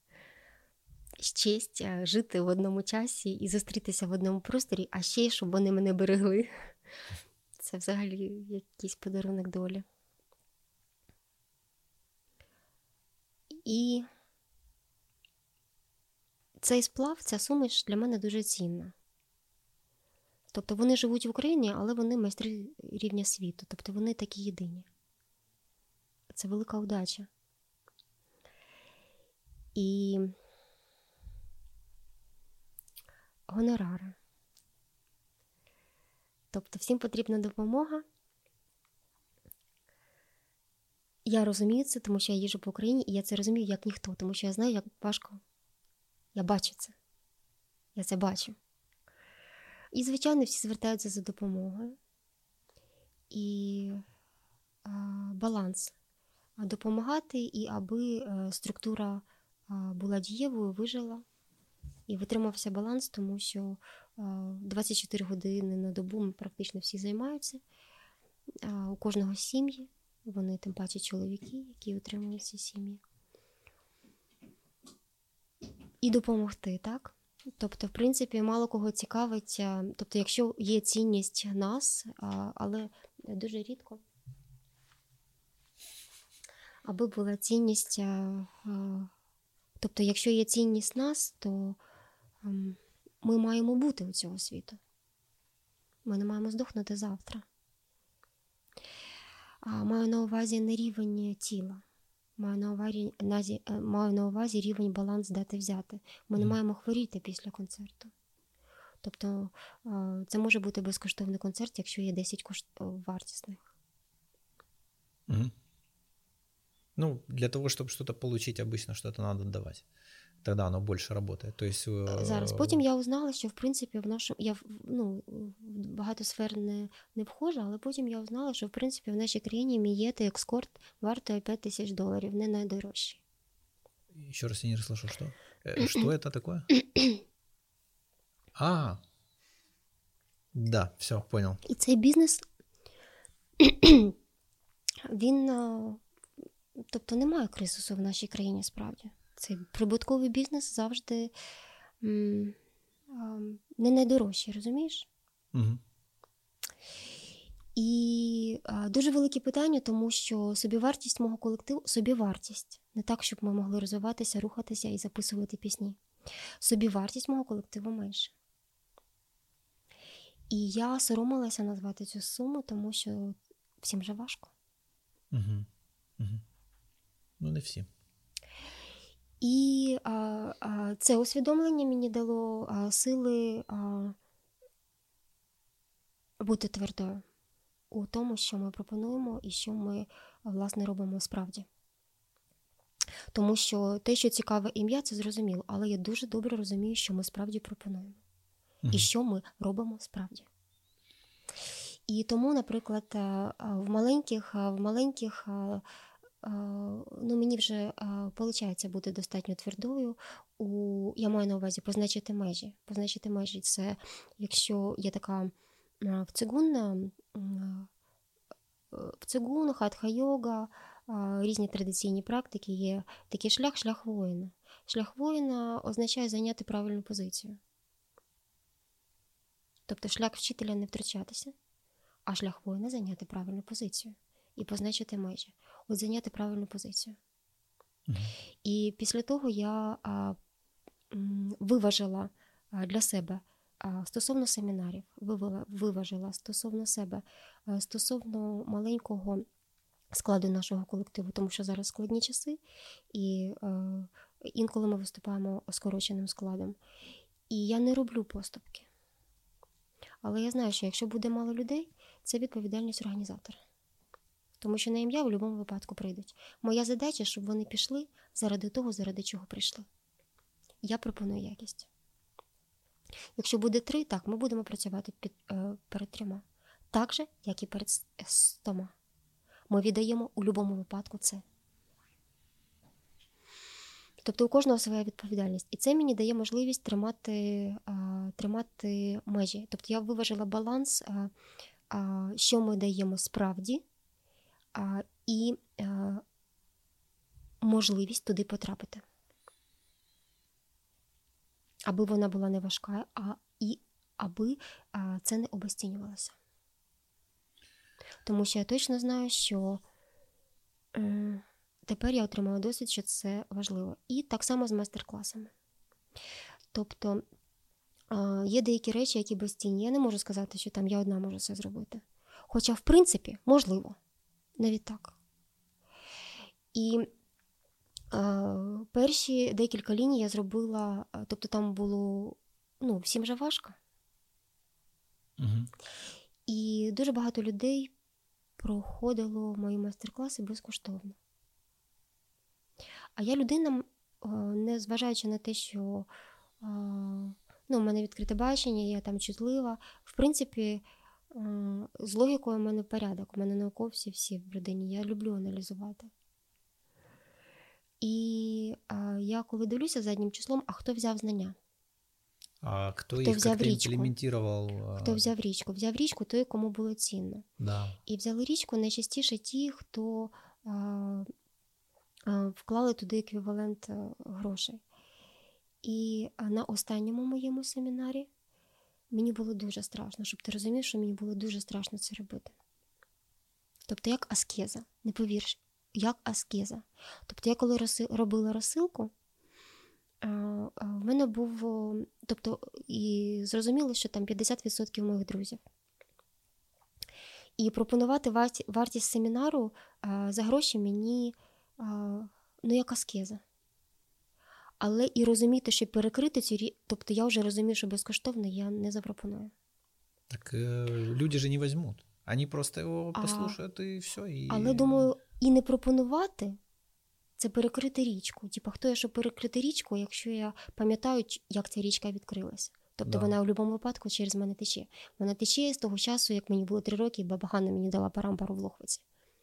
Честь жити в одному часі і зустрітися в одному просторі, а ще й, щоб вони мене берегли. Це взагалі якийсь подарунок долі. І цей сплав, ця суміш для мене дуже цінна. Тобто вони живуть в Україні, але вони майстри рівня світу. Тобто вони такі єдині. Це велика удача. І гонорари. Тобто всім потрібна допомога. Я розумію це, тому що я їжджу по Україні, і я це розумію як ніхто, тому що я знаю, як важко. Я бачу це. Я це бачу. І, звичайно, всі звертаються за допомогою. І баланс. Допомагати, і аби структура була дієвою, вижила. І витримався баланс, тому що 24 години на добу практично всі займаються. У кожного сім'ї, вони тим паче чоловіки, які утримують ці сім'ї. І допомогти, так? Тобто, в принципі, мало кого цікавить, тобто, якщо є цінність нас, але дуже рідко, аби була цінність, тобто, якщо є цінність нас, то ми маємо бути у цього світу. Ми не маємо здохнути завтра. Маю на увазі не рівень тіла. Маю на увазі рівень баланс дати взяти. Ми не маємо хворіти після концерту. Тобто це може бути безкоштовний концерт, якщо є 10 вартісних. Ну, для того, чтобы что-то получить, обычно что-то надо давать. Тогда оно больше работает. То есть... Зараз. Потім я узнала, що, в принципі, я в багато сфер не вхожа, але потім я узнала, що, в принципі, в нашій країні мієти екскорт вартує $5000, не найдорожчий. Еще раз я не расслышал, что? Что это такое? Да, все, понял. І цей бізнес, він, тобто немає кризису в нашій країні, справді. Цей прибутковий бізнес завжди не найдорожчий, розумієш? Угу. І дуже велике питання, тому що собівартість мого колективу, собівартість, не так, щоб ми могли розвиватися, рухатися і записувати пісні. Собівартість мого колективу менше. І я соромилася назвати цю суму, тому що всім же важко. Угу. Угу. Ну, не всі. І це усвідомлення мені дало сили бути твердою у тому, що ми пропонуємо і що ми, власне, робимо справді. Тому що те, що цікаве ім'я, це зрозуміло, але я дуже добре розумію, що ми справді пропонуємо. І що ми робимо справді. І тому, наприклад, в маленьких мені вже виходить бути достатньо твердою. Я маю на увазі позначити межі. Позначити межі – це, якщо є така в цигун, хатха-йога, різні традиційні практики, є такий шлях воїна. Шлях воїна означає зайняти правильну позицію. Тобто шлях вчителя не втрачатися, а шлях воїна зайняти правильну позицію і позначити межі. От зайняти правильну позицію. І після того я виважила для себе стосовно семінарів, виважила стосовно себе, стосовно маленького складу нашого колективу, тому що зараз складні часи, і інколи ми виступаємо скороченим складом. І я не роблю поступки. Але я знаю, що якщо буде мало людей, це відповідальність організатора. Тому що на ім'я в будь-якому випадку прийдуть. Моя задача, щоб вони пішли заради того, заради чого прийшли. Я пропоную якість. Якщо буде 3, так, ми будемо працювати перед 3. Так же, як і перед 100. Ми віддаємо у будь-якому випадку це. Тобто у кожного своя відповідальність. І це мені дає можливість тримати межі. Тобто я виважила баланс, що ми даємо справді, і можливість туди потрапити. Аби вона була не важка, і аби це не обесцінювалося. Тому що я точно знаю, що тепер я отримала досвід, що це важливо. І так само з майстер-класами. Тобто є деякі речі, які безцінні. Я не можу сказати, що там я одна можу це зробити. Хоча, в принципі, можливо. Навіть так. І перші декілька ліній я зробила, тобто там було, всім же важко. І дуже багато людей проходило мої майстер-класи безкоштовно. А я людина, не зважаючи на те, що в мене відкрите бачення, я там чутлива, в принципі, з логікою в мене порядок, у мене науковці всі в родині, я люблю аналізувати. І я коли дивлюся заднім числом, а хто взяв знання? А хто їх як-то імплементував? Хто взяв річку? Взяв річку той, кому було цінно. Да. І взяли річку найчастіше ті, хто вклали туди еквівалент грошей. І на останньому моєму семінарі мені було дуже страшно, щоб ти розумів, що мені було дуже страшно це робити. Тобто як аскеза, не повіриш, як аскеза. Тобто я коли робила розсилку, в мене був, тобто і зрозуміло, що там 50% моїх друзів. І пропонувати вартість семінару за гроші мені, як аскеза. Але і розуміти, що перекрити цю тобто я вже розумію, що безкоштовно я не запропоную. Так люди же не візьмуть. Вони просто його послухають і все. Але, думаю, і не пропонувати Це перекрити річку. Типа, хто я, щоб перекрити річку, якщо я пам'ятаю, як ця річка відкрилася. Тобто вона в будь-якому випадку через мене тече. Вона тече з того часу, як мені було 3 роки, і баба Ганна мені дала парампару в Лохвиці.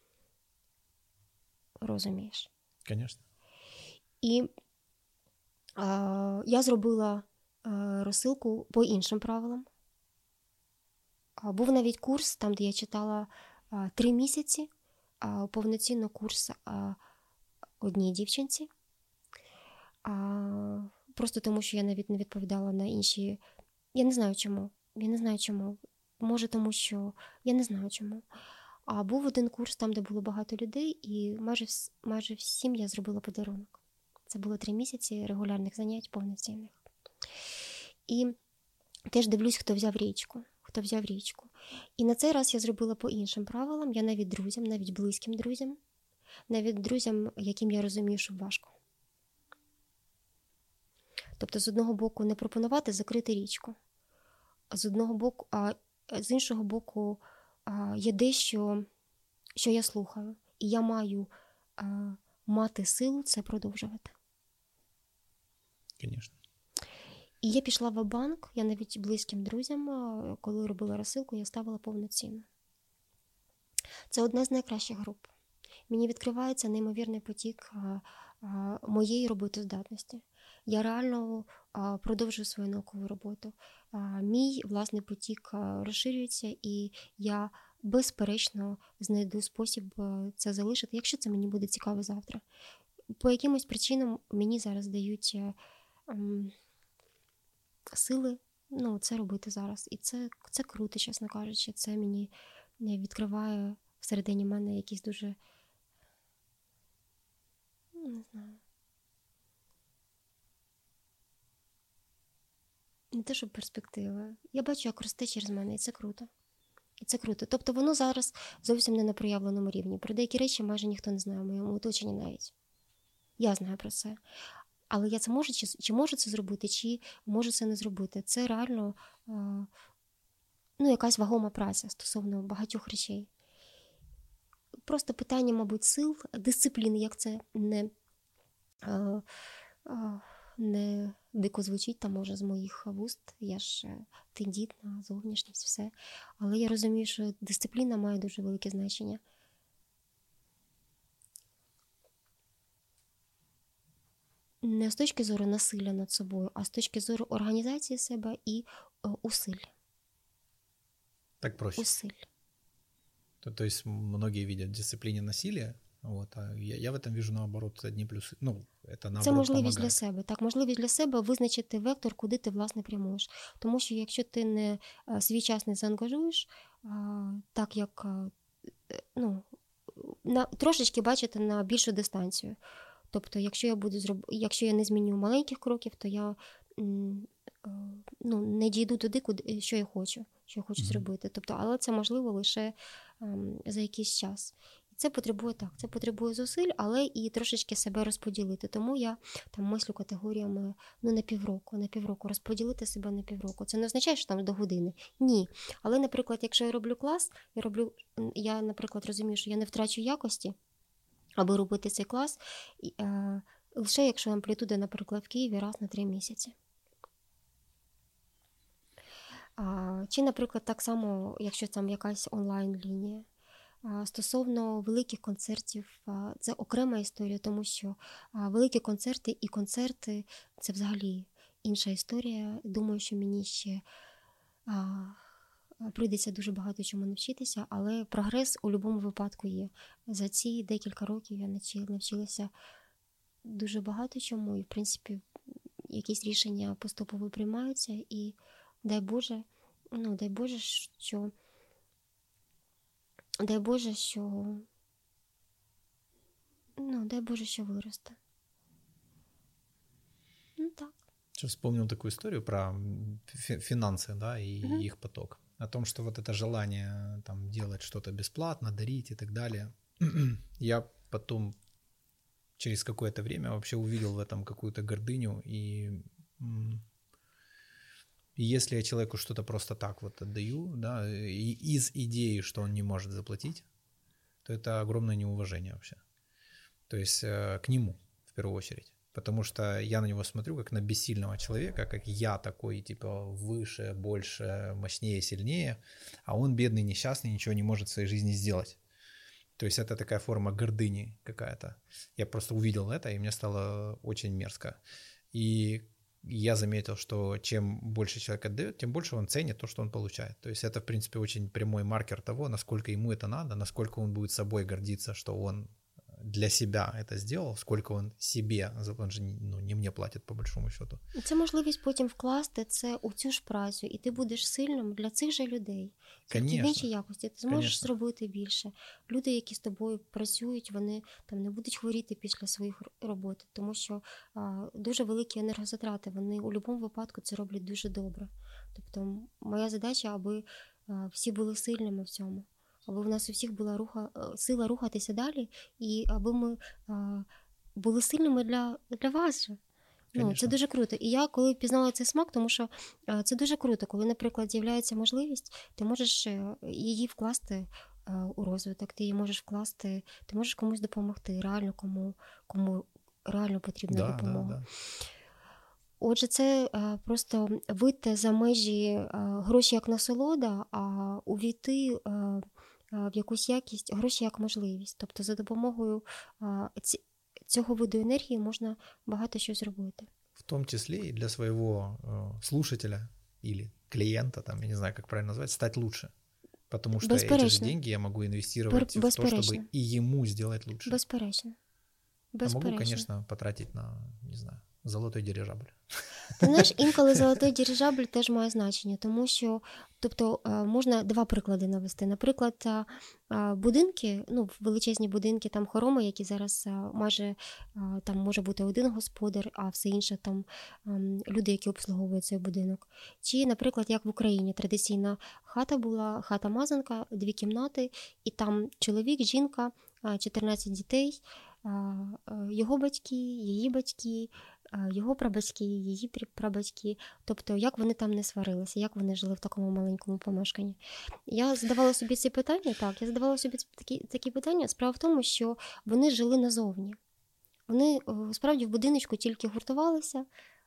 Розумієш? Звісно. І я зробила розсилку по іншим правилам. Був навіть курс, там, де я читала 3 місяці, повноцінно курс одній дівчинці. Просто тому, що я навіть не відповідала на інші. Я не знаю чому. Може тому, що я не знаю чому. А був один курс там, де було багато людей, і майже всім я зробила подарунок. Це було 3 місяці регулярних занять повноцінних. І теж дивлюсь, хто взяв річку. І на цей раз я зробила по іншим правилам. Я навіть друзям, навіть близьким друзям, навіть друзям, яким я розумію, що важко. Тобто, з одного боку, не пропонувати закрити річку. З іншого боку, є дещо, що я слухаю. І я маю мати силу це продовжувати. Звісно. І я пішла в банк, я навіть близьким друзям, коли робила розсилку, я ставила повноцінно. Це одна з найкращих груп. Мені відкривається неймовірний потік моєї роботоздатності. Я реально продовжую свою наукову роботу. Мій власний потік розширюється, і я безперечно знайду спосіб це залишити, якщо це мені буде цікаво завтра. По якимось причинам мені зараз дають сили це робити зараз. І це круто, чесно кажучи. Це мені відкриває всередині мене якісь дуже, не знаю, не те, що перспективи. Я бачу, як росте через мене, і це круто. Тобто воно зараз зовсім не на проявленому рівні. Про деякі речі майже ніхто не знає в моєму оточенні навіть. Я знаю про це. Але я це можу, чи можу це зробити, чи можу це не зробити. Це реально якась вагома праця стосовно багатьох речей. Просто питання, мабуть, сил, дисципліни, як це не дико звучить, там, може, з моїх вуст. Я ж тендітна, зовнішність, все. Але я розумію, що дисципліна має дуже велике значення. Не з точки зору насилля над собою, а з точки зору організації себе і усиль. Так проще. Усиль. То есть многие видят в дисциплине насилие, а я в этом вижу, наоборот, одни плюсы. Это наоборот це можливість помогает. для себе. Так, можливість для себе визначити вектор, куди ти, власне, прямуєш. Тому що якщо ти не свій час не заангажуєш, так як, трошечки бачити на більшу дистанцію. Тобто, якщо я не зміню маленьких кроків, то я не дійду туди, що я хочу зробити. Тобто, але це можливо лише за якийсь час. Це потребує зусиль, але і трошечки себе розподілити. Тому я там мислю категоріями на півроку, розподілити себе на півроку. Це не означає, що там до години. Ні. Але, наприклад, якщо я роблю клас, я, наприклад, розумію, що я не втрачу якості, аби робити цей клас, лише якщо амплітуда, наприклад, в Києві раз на 3 місяці. Чи, наприклад, так само, якщо там якась онлайн-лінія. Стосовно великих концертів, це окрема історія, тому що великі концерти і концерти – це взагалі інша історія. Думаю, що мені ще прийдеться дуже багато чому навчитися, але прогрес у будь-якому випадку є. За ці декілька років я навчилася дуже багато чому, і, в принципі, якісь рішення поступово приймаються, і дай Боже, що виросте. Так. Сейчас вспомнил такую историю про финансы, да, и их поток. О том, что вот это желание там делать что-то бесплатно, дарить и так далее. Я потом через какое-то время вообще увидел в этом какую-то гордыню. И если я человеку что-то просто так вот отдаю, да, из идеи, что он не может заплатить, то это огромное неуважение вообще. То есть к нему в первую очередь. Потому что я на него смотрю как на бессильного человека, как я такой, типа, выше, больше, мощнее, сильнее, а он бедный, несчастный, ничего не может в своей жизни сделать. То есть это такая форма гордыни какая-то. Я просто увидел это, и мне стало очень мерзко. И я заметил, что чем больше человек отдает, тем больше он ценит то, что он получает. То есть это, в принципе, очень прямой маркер того, насколько ему это надо, насколько он будет собой гордиться, что он для себя это сделал, сколько он себе, он же не мне платить по большому счету. Це можливість потім вкласти це у цю ж працю, і ти будеш сильним для цих же людей. Тільки в іншій якості ти зможеш зробити більше. Люди, які з тобою працюють, вони там не будуть хворіти після своїх робот, тому що дуже великі енергозатрати, вони у будь-якому випадку це роблять дуже добре. Тобто моя задача, аби всі були сильними в цьому. Аби в нас у всіх була сила рухатися далі, і аби ми були сильними для вас же. Ну, це дуже круто. І я коли пізнала цей смак, тому що це дуже круто, коли, наприклад, з'являється можливість, ти можеш її вкласти у розвиток, ти її можеш вкласти, ти можеш комусь допомогти, реально кому реально потрібна допомога. Да. Отже, це просто вийти за межі гроші як насолода, а увійти в якусь якість, гроші як можливість. Тобто за допомогою цього виду енергії можна багато що зробити. В том числе и для своего слушателя или клиента, там, я не знаю, как правильно назвать, стать лучше. Потому что эти же деньги я могу инвестировать в то, чтобы и ему сделать лучше. Безперечно. А могу, конечно, потратить на, не знаю, золотой дирижабль. Ти знаєш, інколи золотий дирижабль теж має значення, тому що, тобто, можна два приклади навести. Наприклад, будинки, ну, величезні будинки, там хороми, які зараз майже, там може бути один господар, а все інше там люди, які обслуговують цей будинок. Чи, наприклад, як в Україні, традиційна хата була, хата-мазанка, 2 кімнати, і там чоловік, жінка, 14 дітей, його батьки, її батьки, його прабатьки, її прабатьки, тобто як вони там не сварилися, як вони жили в такому маленькому помешканні. Я задавала собі ці питання, такі питання. Справа в тому, що вони жили назовні. Вони справді в будиночку тільки гуртувалися,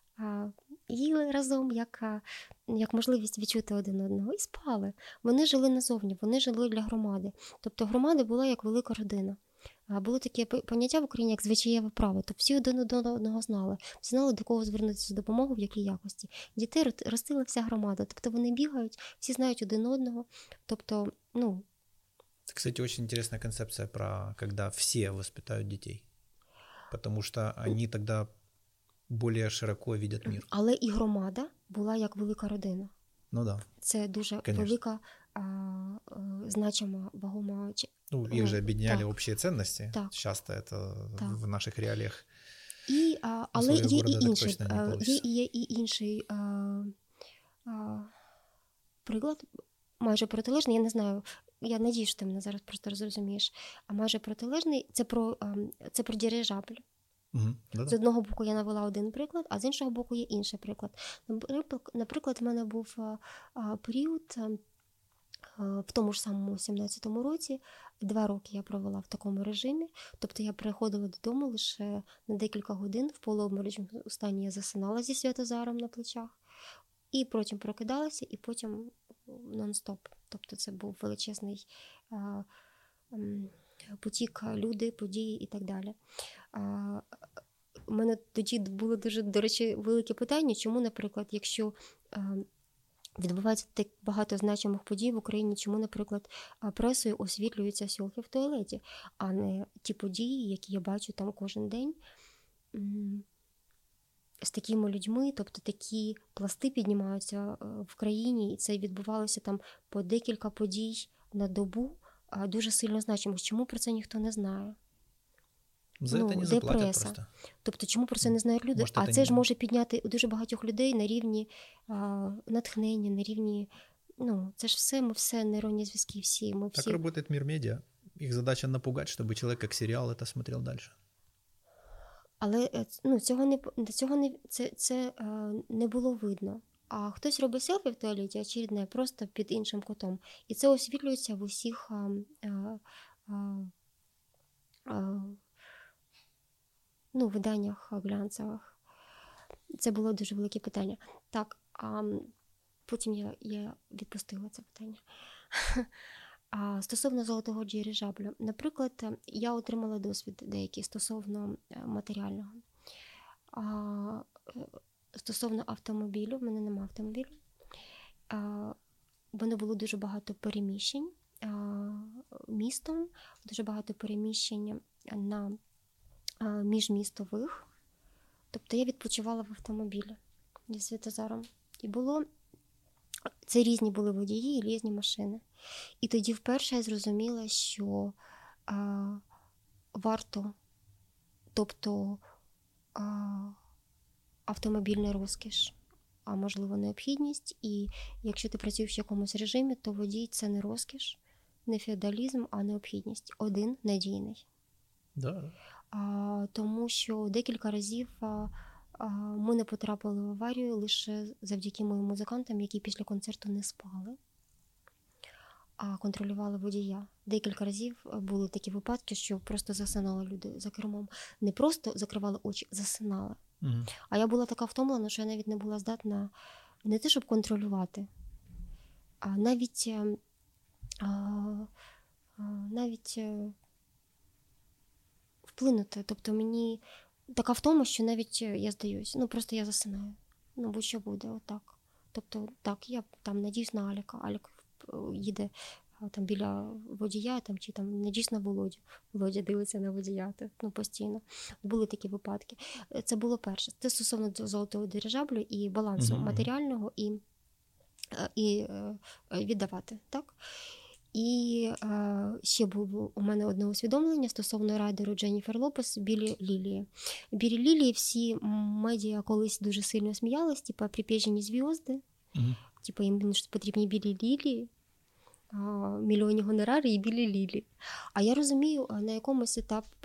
їли разом, як можливість відчути один одного, і спали. Вони жили назовні, вони жили для громади. Тобто громада була як велика родина. Було таке поняття в Україні, як звичаєве право. Тобто всі один одного знали. Всі знали, до кого звернутися за допомогою, в якій якості. Дітей ростила вся громада. Тобто вони бігають, всі знають один одного. Тобто, ну... Это, кстати, очень интересная концепция про когда все воспитают детей. Потому что они тогда более широко видят мир. Але і громада була як велика родина. Ну да. Це дуже велика, значима, вагома... Ну, их же объединяли общие ценности. Так. Часто это в наших реалиях. Але є і інший приклад, майже протилежний, я не знаю, я надію, що ти мене зараз просто зрозумієш, а майже протилежний, це про дирижабль. З одного боку я навела один приклад, а з іншого боку є інший приклад. Наприклад, в мене був період в тому ж самому 17-му році, 2 роки я провела в такому режимі, тобто я приходила додому лише на декілька годин, в полуобморочному стані я засинала зі Святозаром на плечах, і потім прокидалася, і потім нон-стоп. Тобто це був величезний потік, люди, події і так далі. У мене тоді було дуже, до речі, велике питання, чому, наприклад, якщо відбувається так багато значимих подій в Україні, чому, наприклад, пресою освітлюються сьолки в туалеті, а не ті події, які я бачу там кожен день з такими людьми, тобто такі пласти піднімаються в країні, і це відбувалося там по декілька подій на добу, дуже сильно значимих. Чому про це ніхто не знає? За це не заплатять просто. Тобто, чому про це не знають люди? А це ж може підняти дуже багатьох людей на рівні натхнення, на рівні... Ну, це ж все, ми все, нейронні зв'язки, всі. Ми всі... Так работает мир медиа. Их задача напугать, чтобы человек как сериал это смотрел дальше. Але це не було видно. А хтось робить селфі в туалеті, очередне, просто під іншим кутом. І це освітлюється в усіх виданнях глянцевих. Це було дуже велике питання. Так, потім я відпустила це питання. Стосовно золотого дирижаблю. Наприклад, я отримала досвід деякий стосовно матеріального. Стосовно автомобілю, в мене немає автомобілю. В мене було дуже багато переміщень містом, дуже багато переміщень на міжмістових. Тобто я відпочивала в автомобілі зі Святозаром. І це різні були водії і різні машини. І тоді вперше я зрозуміла, що варто, тобто автомобільна розкіш, а можливо необхідність. І якщо ти працюєш в якомусь режимі, то водій – це не розкіш, не феодалізм, а необхідність. Один надійний. Да. Тому що декілька разів ми не потрапили в аварію лише завдяки моїм музикантам, які після концерту не спали, а контролювали водія. Декілька разів були такі випадки, що просто засинали люди за кермом. Не просто закривали очі, засинали. А я була така втомлена, що я навіть не була здатна не те, щоб контролювати, а навіть вплинути. Тобто мені така втома, що навіть я здаюсь. Просто я засинаю. Будь-що буде, отак. Тобто, так, я там надіюсь на Аліка. Алік їде там біля водія, чи надіюсь на Володю. Володя дивиться на водія, постійно. Були такі випадки. Це було перше. Це стосовно золотого дирижаблю і балансу матеріального і віддавати, так? І ще було у мене одне усвідомлення стосовно райдеру Дженніфер Лопес «Білі лілії». «Білі лілії» всі медіа колись дуже сильно сміялись, «Припєжені зв'язки», їм потрібні білі лілії, мільйонні гонорари і білі лілії. А я розумію, на якомусь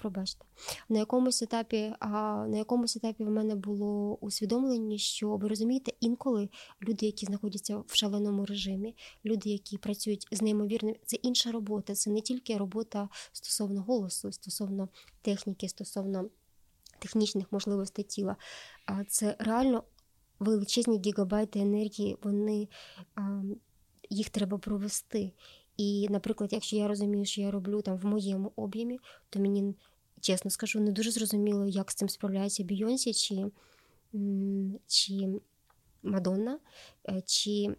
етапі в мене було усвідомлення, що, ви розумієте, інколи люди, які знаходяться в шаленому режимі, люди, які працюють з неймовірним, це інша робота, це не тільки робота стосовно голосу, стосовно техніки, стосовно технічних можливостей тіла, а це реально величезні гігабайти енергії, їх треба провести. І, наприклад, якщо я розумію, що я роблю в моєму об'ємі, то мені, чесно скажу, не дуже зрозуміло, як з цим справляється Бійонсі, чи Мадонна, чи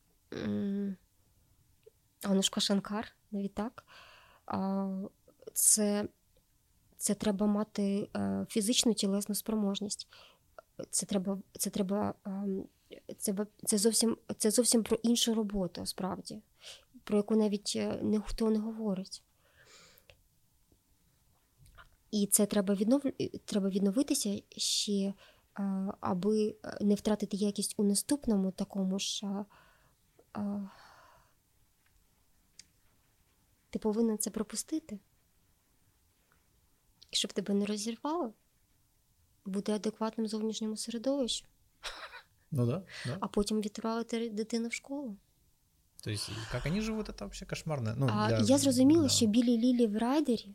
Анушка Шанкар, навіть так. Це треба мати фізичну тілесну спроможність. Це зовсім про іншу роботу, справді, про яку навіть ніхто не говорить. І це треба відновитися ще, аби не втратити якість у наступному такому ж. Ти повинен це пропустити. І щоб тебе не розірвало, бути адекватним зовнішньому середовищу. Да. А потім відправити дитину в школу. Тобто, як вони живуть, це взагалі кошмарно. Я зрозуміла, що білі лілії в райдері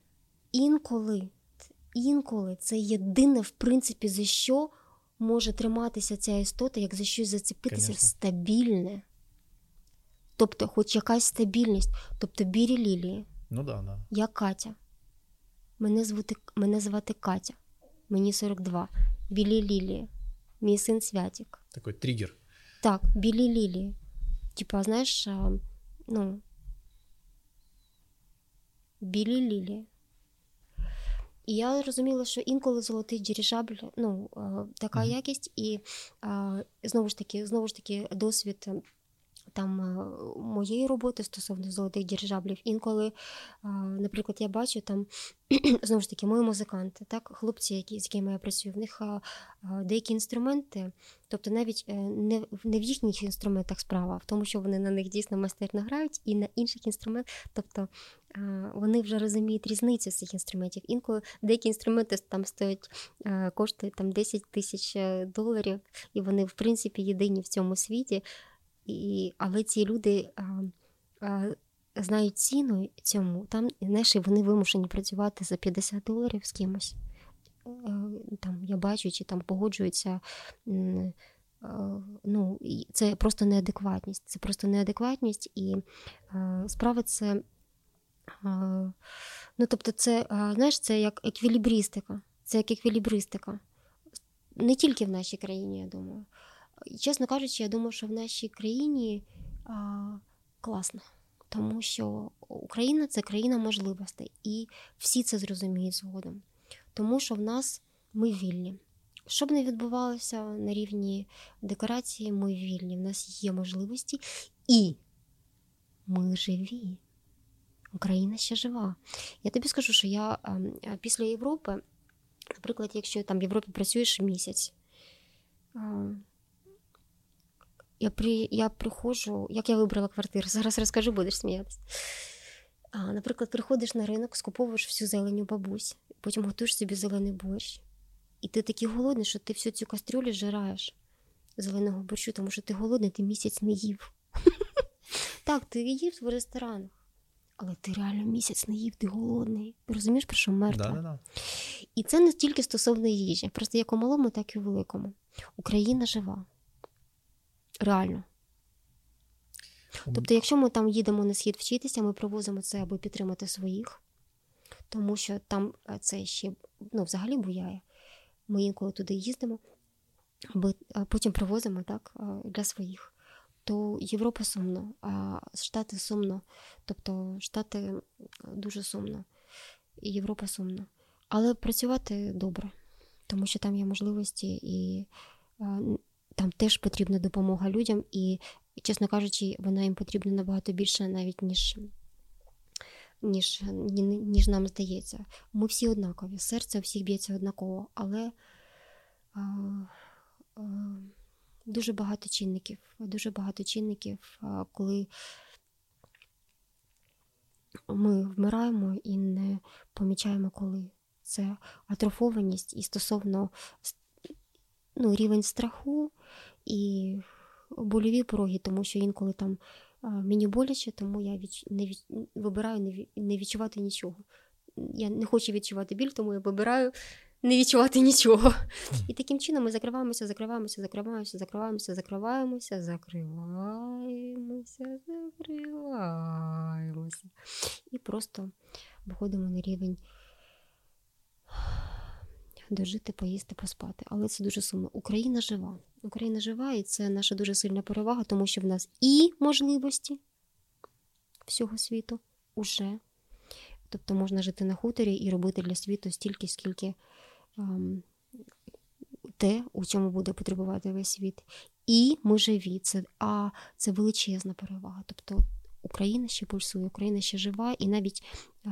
інколи це єдине, в принципі, за що може триматися ця істота, як за щось зацепитися. Конечно. Стабільне. Тобто, хоч якась стабільність. Тобто, білі лілії. Да. Я Катя. Мене звати Катя. Мені 42. Білі лілії. Мій син Святік. Такий тригер. Так, білі лілії. Знаєш, білі лілії. І я розуміла, що інколи золотий дирижабль, така якість, і знову ж таки досвід моєї роботи стосовно золотих дирижаблів. Інколи, наприклад, я бачу знову ж таки, мої музиканти, так, хлопці, з якими я працюю, в них деякі інструменти, тобто навіть не в їхніх інструментах справа, а в тому, що вони на них дійсно майстерно грають, і на інших інструментах, тобто вони вже розуміють різницю цих інструментів. Інколи деякі інструменти коштують $10 тисяч, і вони, в принципі, єдині в цьому світі. Але ці люди знають ціну цьому, знаєш, вони вимушені працювати за $50 з кимось. там я бачу, чи там погоджуються, ну, це просто неадекватність. Це просто неадекватність, і справа це, ну, тобто це, знаєш, це як еквілібристика. Це як еквілібристика. Не тільки в нашій країні, я думаю. Чесно кажучи, я думаю, що в нашій країні класно. Тому що Україна – це країна можливостей. І всі це зрозуміють згодом. Тому що в нас ми вільні. Що б не відбувалося на рівні декорації, ми вільні. В нас є можливості. І ми живі. Україна ще жива. Я тобі скажу, що я після Європи, наприклад, якщо там в Європі працюєш місяць, я приходжу, як я вибрала квартиру, зараз розкажу, будеш сміятися. Наприклад, приходиш на ринок, скуповуєш всю зелень у бабусь, потім готуєш собі зелений борщ. І ти такий голодний, що ти всю цю кастрюлю жираєш зеленого борщу, тому що ти голодний, ти місяць не їв. Так, ти їв в ресторанах, але ти реально місяць не їв, ти голодний. Ти розумієш, про що мертвий? Да. І це не тільки стосовно їжі, просто як у малому, так і у великому. Україна жива. Реально. Тобто, якщо ми там їдемо на схід вчитися, ми привозимо це, аби підтримати своїх, тому що там це ще, ну, взагалі буяє. Ми інколи туди їздимо, аби потім привозимо, так, для своїх. То Європа сумно, а Штати сумно. Тобто Штати дуже сумно, і Європа сумно. Але працювати добре, тому що там є можливості, і там теж потрібна допомога людям, і, чесно кажучи, вона їм потрібна набагато більше навіть, ніж нам здається. Ми всі однакові, серце у всіх б'ється однаково, але дуже багато чинників, коли ми вмираємо і не помічаємо, коли. Це атрофованість і стосовно, ну, рівень страху і больові пороги, тому що інколи там мені боляче, тому я вибираю не відчувати нічого. Я не хочу відчувати біль, тому я вибираю не відчувати нічого. І таким чином ми закриваємося. І просто виходимо на рівень дожити, поїсти, поспати. Але це дуже сумно. Україна жива. Україна жива, і це наша дуже сильна перевага, тому що в нас і можливості всього світу уже. Тобто можна жити на хуторі і робити для світу стільки, скільки те, у чому буде потребувати весь світ. І ми живі. Це величезна перевага. Тобто Україна ще пульсує, Україна ще жива, і навіть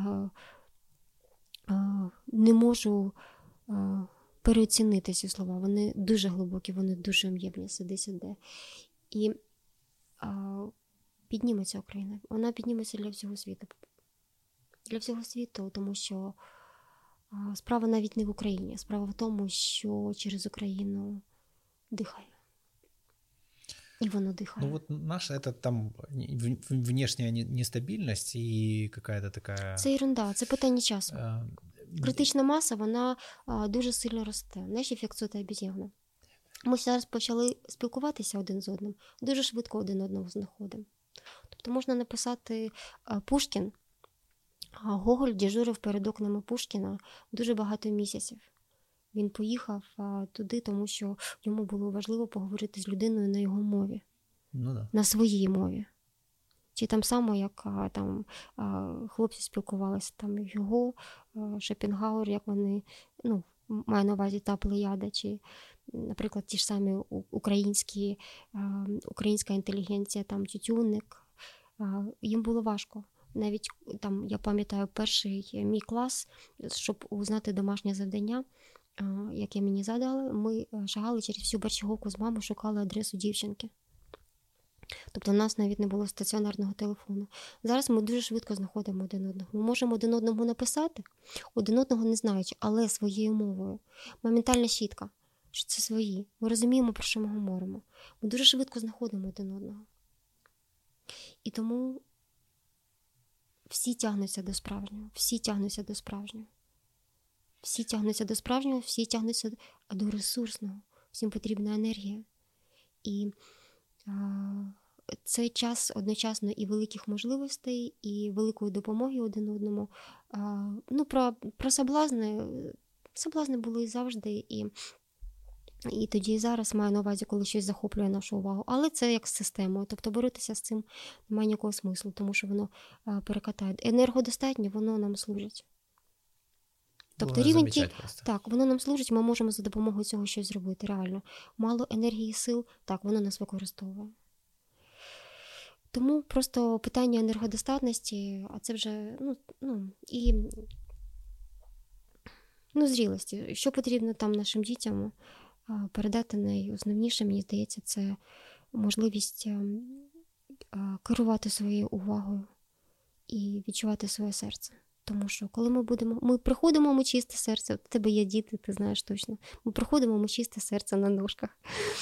не можу переоцінити ці слова. Вони дуже глибокі, вони дуже об'ємні, сиде. І підніметься Україна. Вона підніметься для всього світу. Для всього світу, тому що справа навіть не в Україні. Справа в тому, що через Україну дихає. И воно дыхает. Ну вот наша это там внешняя нестабильность и какая-то такая... Це ерунда, це питання часу. Критична маса, вона дуже сильно росте. Знаєш, ефект сотої обезьяни. Ми зараз почали спілкуватися один з одним, дуже швидко один одного знаходимо. Тобто можна написати Пушкін, Гоголь дежурив перед окнами Пушкіна дуже багато місяців. Він поїхав туди, тому що йому було важливо поговорити з людиною на його мові. Ну, да. На своїй мові. Чи там само, як там хлопці спілкувалися, там його, Шопенгауер, як вони, ну, маю на увазі та плеяда, чи, наприклад, ті ж самі українська інтелігенція, там Тютюнник, їм було важко. Навіть там, я пам'ятаю, перший мій клас, щоб узнати домашнє завдання, яке мені задали, ми шагали через всю Борщаговку з мамою, шукали адресу дівчинки. Тобто у нас навіть не було стаціонарного телефону. Зараз ми дуже швидко знаходимо один одного. Ми можемо один одному написати, один одного не знаючи, але своєю мовою. Моментальна щітка, що це свої. Ми розуміємо, про що ми говоримо. Ми дуже швидко знаходимо один одного. І тому всі тягнуться до справжнього. Всі тягнуться до справжнього. Всі тягнуться до справжнього, всі тягнуться до ресурсного. Всім потрібна енергія. І це час одночасно і великих можливостей, і великої допомоги один одному. Про соблазни. Соблазни були і завжди, і тоді і зараз маю на увазі, коли щось захоплює нашу увагу. Але це як з системою. Тобто боротися з цим немає ніякого смислу, тому що воно перекатає. Енергодостатньо, воно нам служить. Тобто рівень так, воно нам служить, ми можемо за допомогою цього щось зробити, реально. Мало енергії, сил, так, воно нас використовує. Тому просто питання енергодостатності, а це вже, зрілості. Що потрібно там нашим дітям передати найосновніше, мені здається, це можливість керувати своєю увагою і відчувати своє серце. Тому що коли ми приходимо, ми чисте серце, у тебе є діти, ти знаєш точно. Ми приходимо, ми чисте серце на ножках.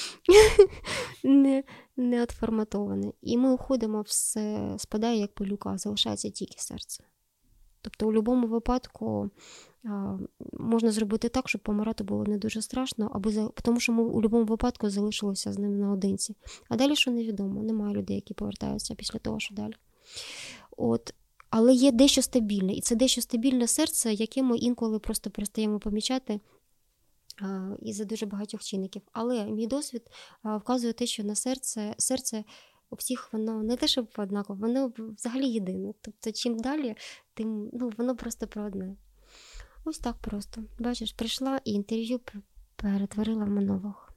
Не отформатоване. І ми уходимо, все спадає як пилюка, а залишається тільки серце. Тобто у будь-якому випадку можна зробити так, щоб помирати було не дуже страшно, тому що ми у будь-якому випадку залишилися з ним наодинці. А далі що невідомо, немає людей, які повертаються після того, що далі. Але є дещо стабільне, і це дещо стабільне серце, яке ми інколи просто перестаємо помічати із-за дуже багатьох чинників. Але мій досвід вказує те, що на серце у всіх воно не те, щоб однаково, воно взагалі єдине. Тобто чим далі, тим воно просто про одне. Ось так просто. Бачиш, прийшла і інтерв'ю перетворила в монолог.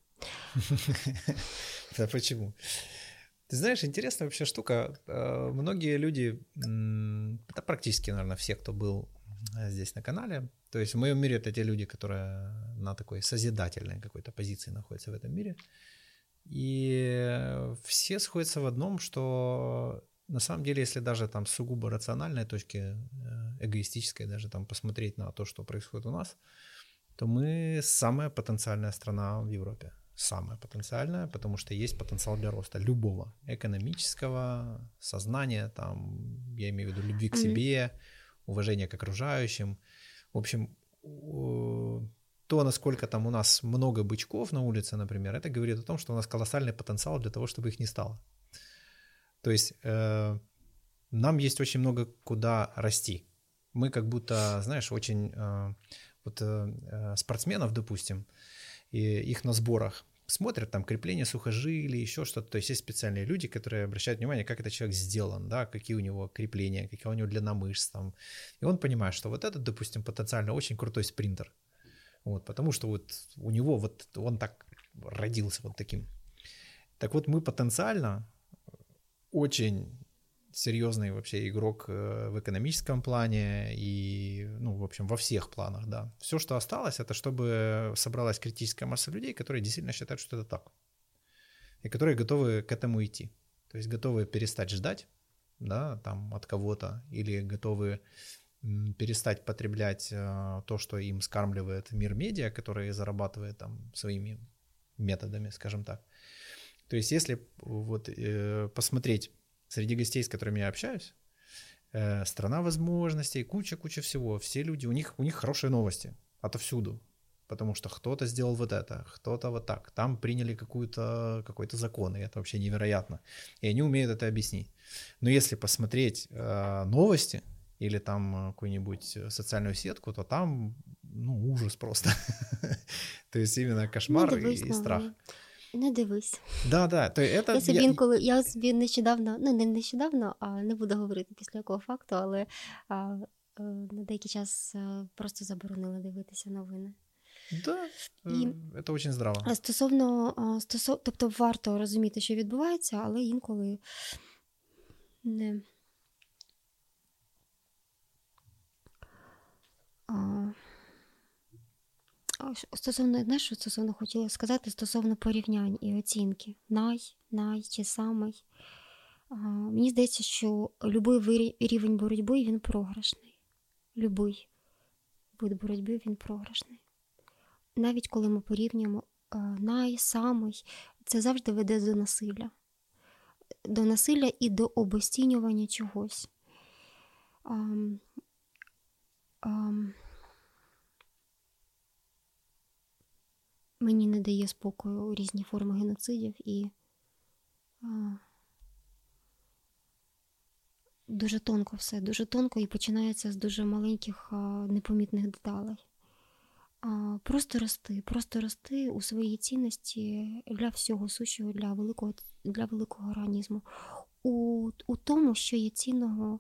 Да почему? Ты знаешь, интересная вообще штука. Многие люди, это практически, наверное, все, кто был здесь на канале, то есть в моем мире это те люди, которые на такой созидательной какой-то позиции находятся в этом мире, и все сходятся в одном, что на самом деле, если даже там с сугубо рациональной точки, эгоистической даже там посмотреть на то, что происходит у нас, то мы самая потенциальная страна в Европе. Самая потенциальная, потому что есть потенциал для роста любого экономического, сознания, там, я имею в виду любви к себе, уважения к окружающим. В общем, то, насколько там у нас много бычков на улице, например, это говорит о том, что у нас колоссальный потенциал для того, чтобы их не стало. То есть нам есть очень много куда расти. Мы как будто, знаешь, очень спортсменов, допустим, и их на сборах смотрят, там крепление сухожилий, еще что-то. То есть есть специальные люди, которые обращают внимание, как этот человек сделан, да, какие у него крепления, какая у него длина мышц. Там. И он понимает, что вот этот, допустим, потенциально очень крутой спринтер. Вот, потому что вот у него вот он так родился вот таким. Так вот мы потенциально очень серьезный вообще игрок в экономическом плане и, в общем, во всех планах, да. Все, что осталось, это чтобы собралась критическая масса людей, которые действительно считают, что это так. И которые готовы к этому идти. То есть готовы перестать ждать, да, там, от кого-то, или готовы перестать потреблять то, что им скармливает мир медиа, который зарабатывает там своими методами, скажем так. То есть если вот посмотреть среди гостей, с которыми я общаюсь, страна возможностей, куча всего. Все люди, у них хорошие новости отовсюду, потому что кто-то сделал вот это, кто-то вот так. Там приняли какой-то закон, и это вообще невероятно. И они умеют это объяснить. Но если посмотреть новости или там какую-нибудь социальную сетку, то там, ужас просто. То есть именно кошмар и страх. Не дивись. Да. То это... Я собі нещодавно, не нещодавно, а не буду говорити після якого факту, але на деякий час просто заборонила дивитися новини. Да, це дуже здраво. Тобто варто розуміти, що відбувається, але інколи не... Стосовно хотіла сказати, стосовно порівнянь і оцінки. Най чи самий. Мені здається, що будь-який рівень боротьби, він програшний. Будь-який вид боротьби, він програшний. Навіть коли ми порівнюємо самий, це завжди веде до насилля. До насилля і до обесцінювання чогось. Мені не дає спокою різні форми геноцидів і дуже тонко все, дуже тонко і починається з дуже маленьких непомітних деталей. Просто рости у своїй цінності для всього сущого, для великого організму. У тому, що є цінного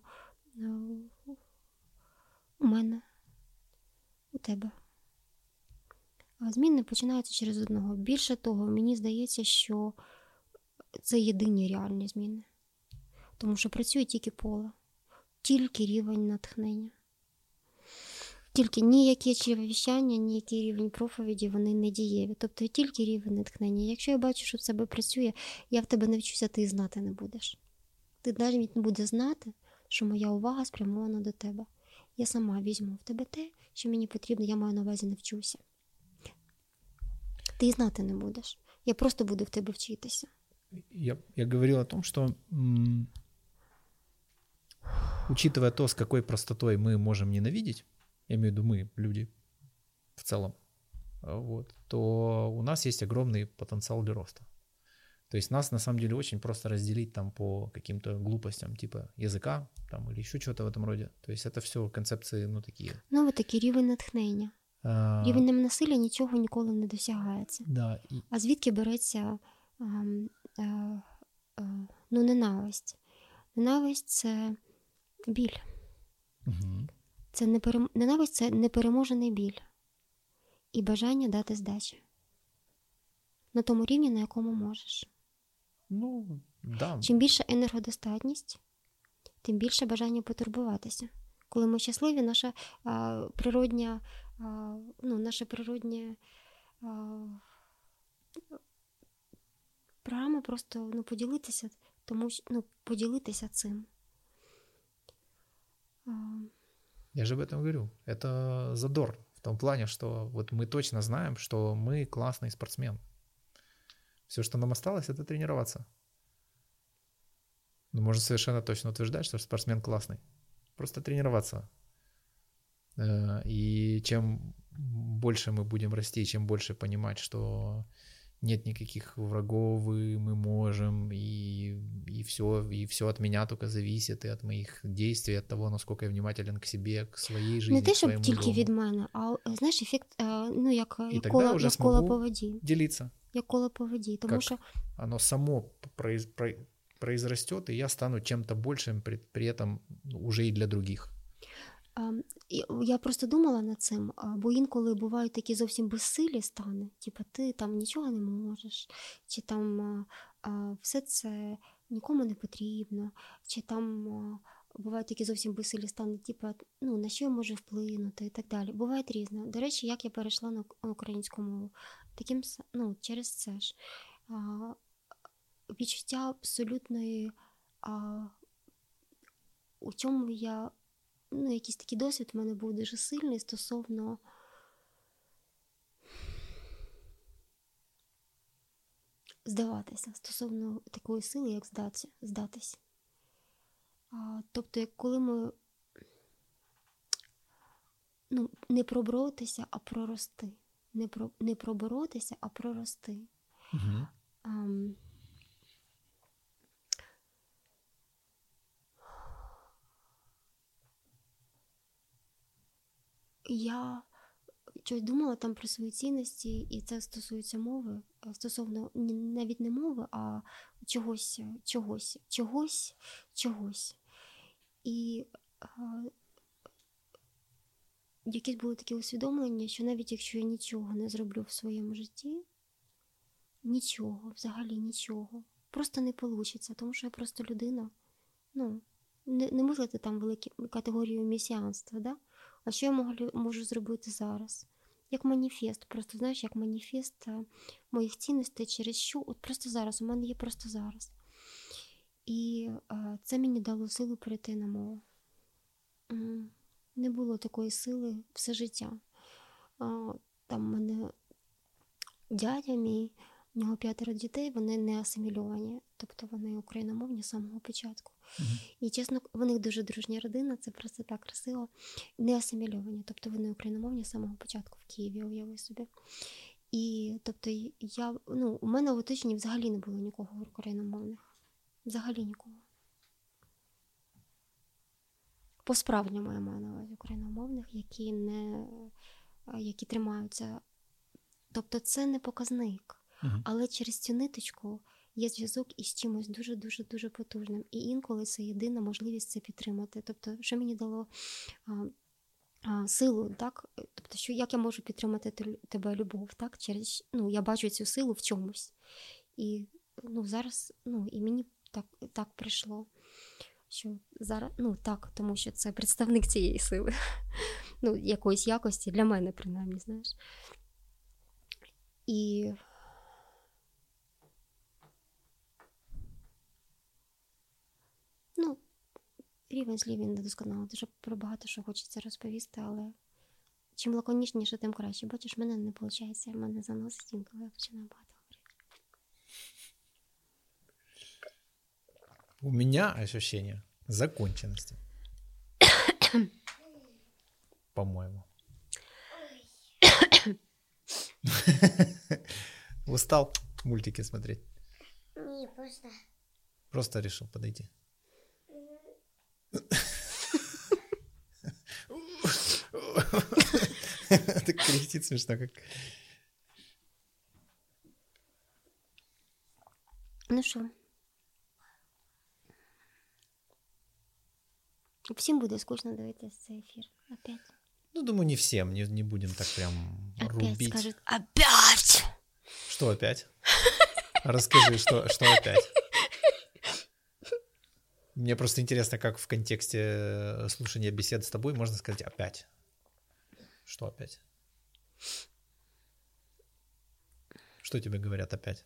у мене, у тебе. А зміни починаються через одного. Більше того, мені здається, що це єдині реальні зміни. Тому що працює тільки поле, тільки рівень натхнення. Тільки ніякі чревовіщання, ніякий рівень проповіді, вони не дієві. Тобто тільки рівень натхнення. Якщо я бачу, що в себе працює, я в тебе навчуся, ти і знати не будеш. Ти навіть не будеш знати, що моя увага спрямована до тебе. Я сама візьму в тебе те, що мені потрібно, я маю на увазі навчуся. Ты и знати не будешь. Я просто буду в тебе вчитися. Я говорил о том, что учитывая то, с какой простотой мы можем ненавидеть, я имею в виду мы, люди в целом, вот, то у нас есть огромный потенциал для роста. То есть нас на самом деле очень просто разделить там по каким-то глупостям типа языка там, или еще чего-то в этом роде. То есть это все концепции, ну, такие. Ну, вот такий рівень натхнення. Рівнем насилля нічого ніколи не досягається. Да. А звідки береться ненависть? Ненависть – це біль. Угу. Ненависть – це непереможений біль і бажання дати здачі. На тому рівні, на якому можеш. Ну, да. Чим більша енергодостатність, тим більше бажання потурбуватися. Коли ми щасливі, наша природня, наша природня програма просто поділитися, поділитися цим. Я же об этом говорю. Это задор в том плане, что вот мы точно знаем, что мы классный спортсмен. Все, что нам осталось, это тренироваться. Но можно совершенно точно утверждать, что спортсмен классный. Просто тренироваться. И чем больше мы будем расти, чем больше понимать, что нет никаких врагов, и мы можем, и все от меня только зависит, и от моих действий, от того, насколько я внимателен к себе, к своей жизни, не те, к своему щоб тільки дому. від мене, а, знаєш, ефект, як уже коло по воді. Делиться. Як коло по воді, тому как що оно само произрастет, и я стану чем-то большим при этом уже и для других. Я просто думала над цим, бо інколи бувають такі зовсім безсилі стани, типу ти там нічого не можеш, чи там все це нікому не потрібно, чи там бувають такі зовсім безсилі стани, типу, на що я можу вплинути і так далі. Буває різне. До речі, як я перейшла на українську мову, через це ж. Відчуття абсолютної, у чому я, якийсь такий досвід в мене був дуже сильний стосовно здаватися, стосовно такої сили, як здатись. Тобто, коли ми не проборотися, а прорости. Не проборотися, а прорости. Угу. Я щось думала там про свої цінності, і це стосується мови, стосовно навіть не мови, а чогось. І якісь були такі усвідомлення, що навіть якщо я нічого не зроблю в своєму житті, взагалі нічого, просто не вийде, тому що я просто людина, не мислити там велику категорію месіанства, да? А що я можу зробити зараз? Як маніфест, просто, знаєш, як маніфест моїх цінностей, через що, от просто зараз, у мене є просто зараз. І це мені дало силу перейти на мову. Не було такої сили все життя. Там в мене дядя мій, у нього 5 дітей, вони не асимільовані, тобто вони україномовні з самого початку. І чесно, в них дуже дружня родина, це просто так красиво. Не асимільовані, тобто вони україномовні з самого початку в Києві, уяви собі. І, тобто, у мене в оточенні взагалі не було нікого україномовних. Взагалі нікого. По-справжньому я маю на увазі україномовних, які тримаються. Тобто це не показник. Але через цю ниточку є зв'язок із чимось дуже-дуже-дуже потужним. І інколи це єдина можливість це підтримати. Тобто, що мені дало силу, так? Тобто, як я можу підтримати тебе любов, так? Я бачу цю силу в чомусь. І зараз, і мені так прийшло, що зараз, так, тому що це представник цієї сили. Якоїсь якості, для мене, принаймні, знаєш. І рівень слів він недосконалий. Дуже про багато що хочеться розповісти, але чим лаконічніше, тим краще. Бачиш, мене не виходить, мене заносить інколи, я починаю багато говорити. У меня ощущение законченности. По-моему. Устал мультики смотреть? Не, просто. Просто решил подойти. Так кричит смешно, как... Ну що? Всім буде скучно дивитися цей ефір. Опять. Думаю, не всем, не будем так прям рубить. Опять скажут, опять! Что опять? Расскажи, что опять? Мне просто интересно, как в контексте слушания бесед с тобой можно сказать опять. Что опять? Что тебе говорят опять?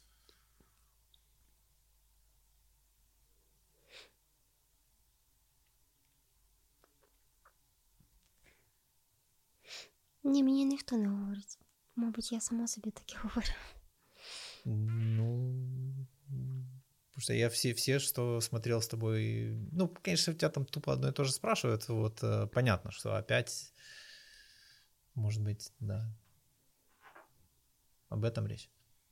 Ні, мені ніхто не говорить. Мабуть, я сама собі таке говорю. Потому что я все, что смотрел с тобой... конечно, у тебя там тупо одно и то же спрашивают. Вот понятно, что опять... Может быть, да. Об этом речь.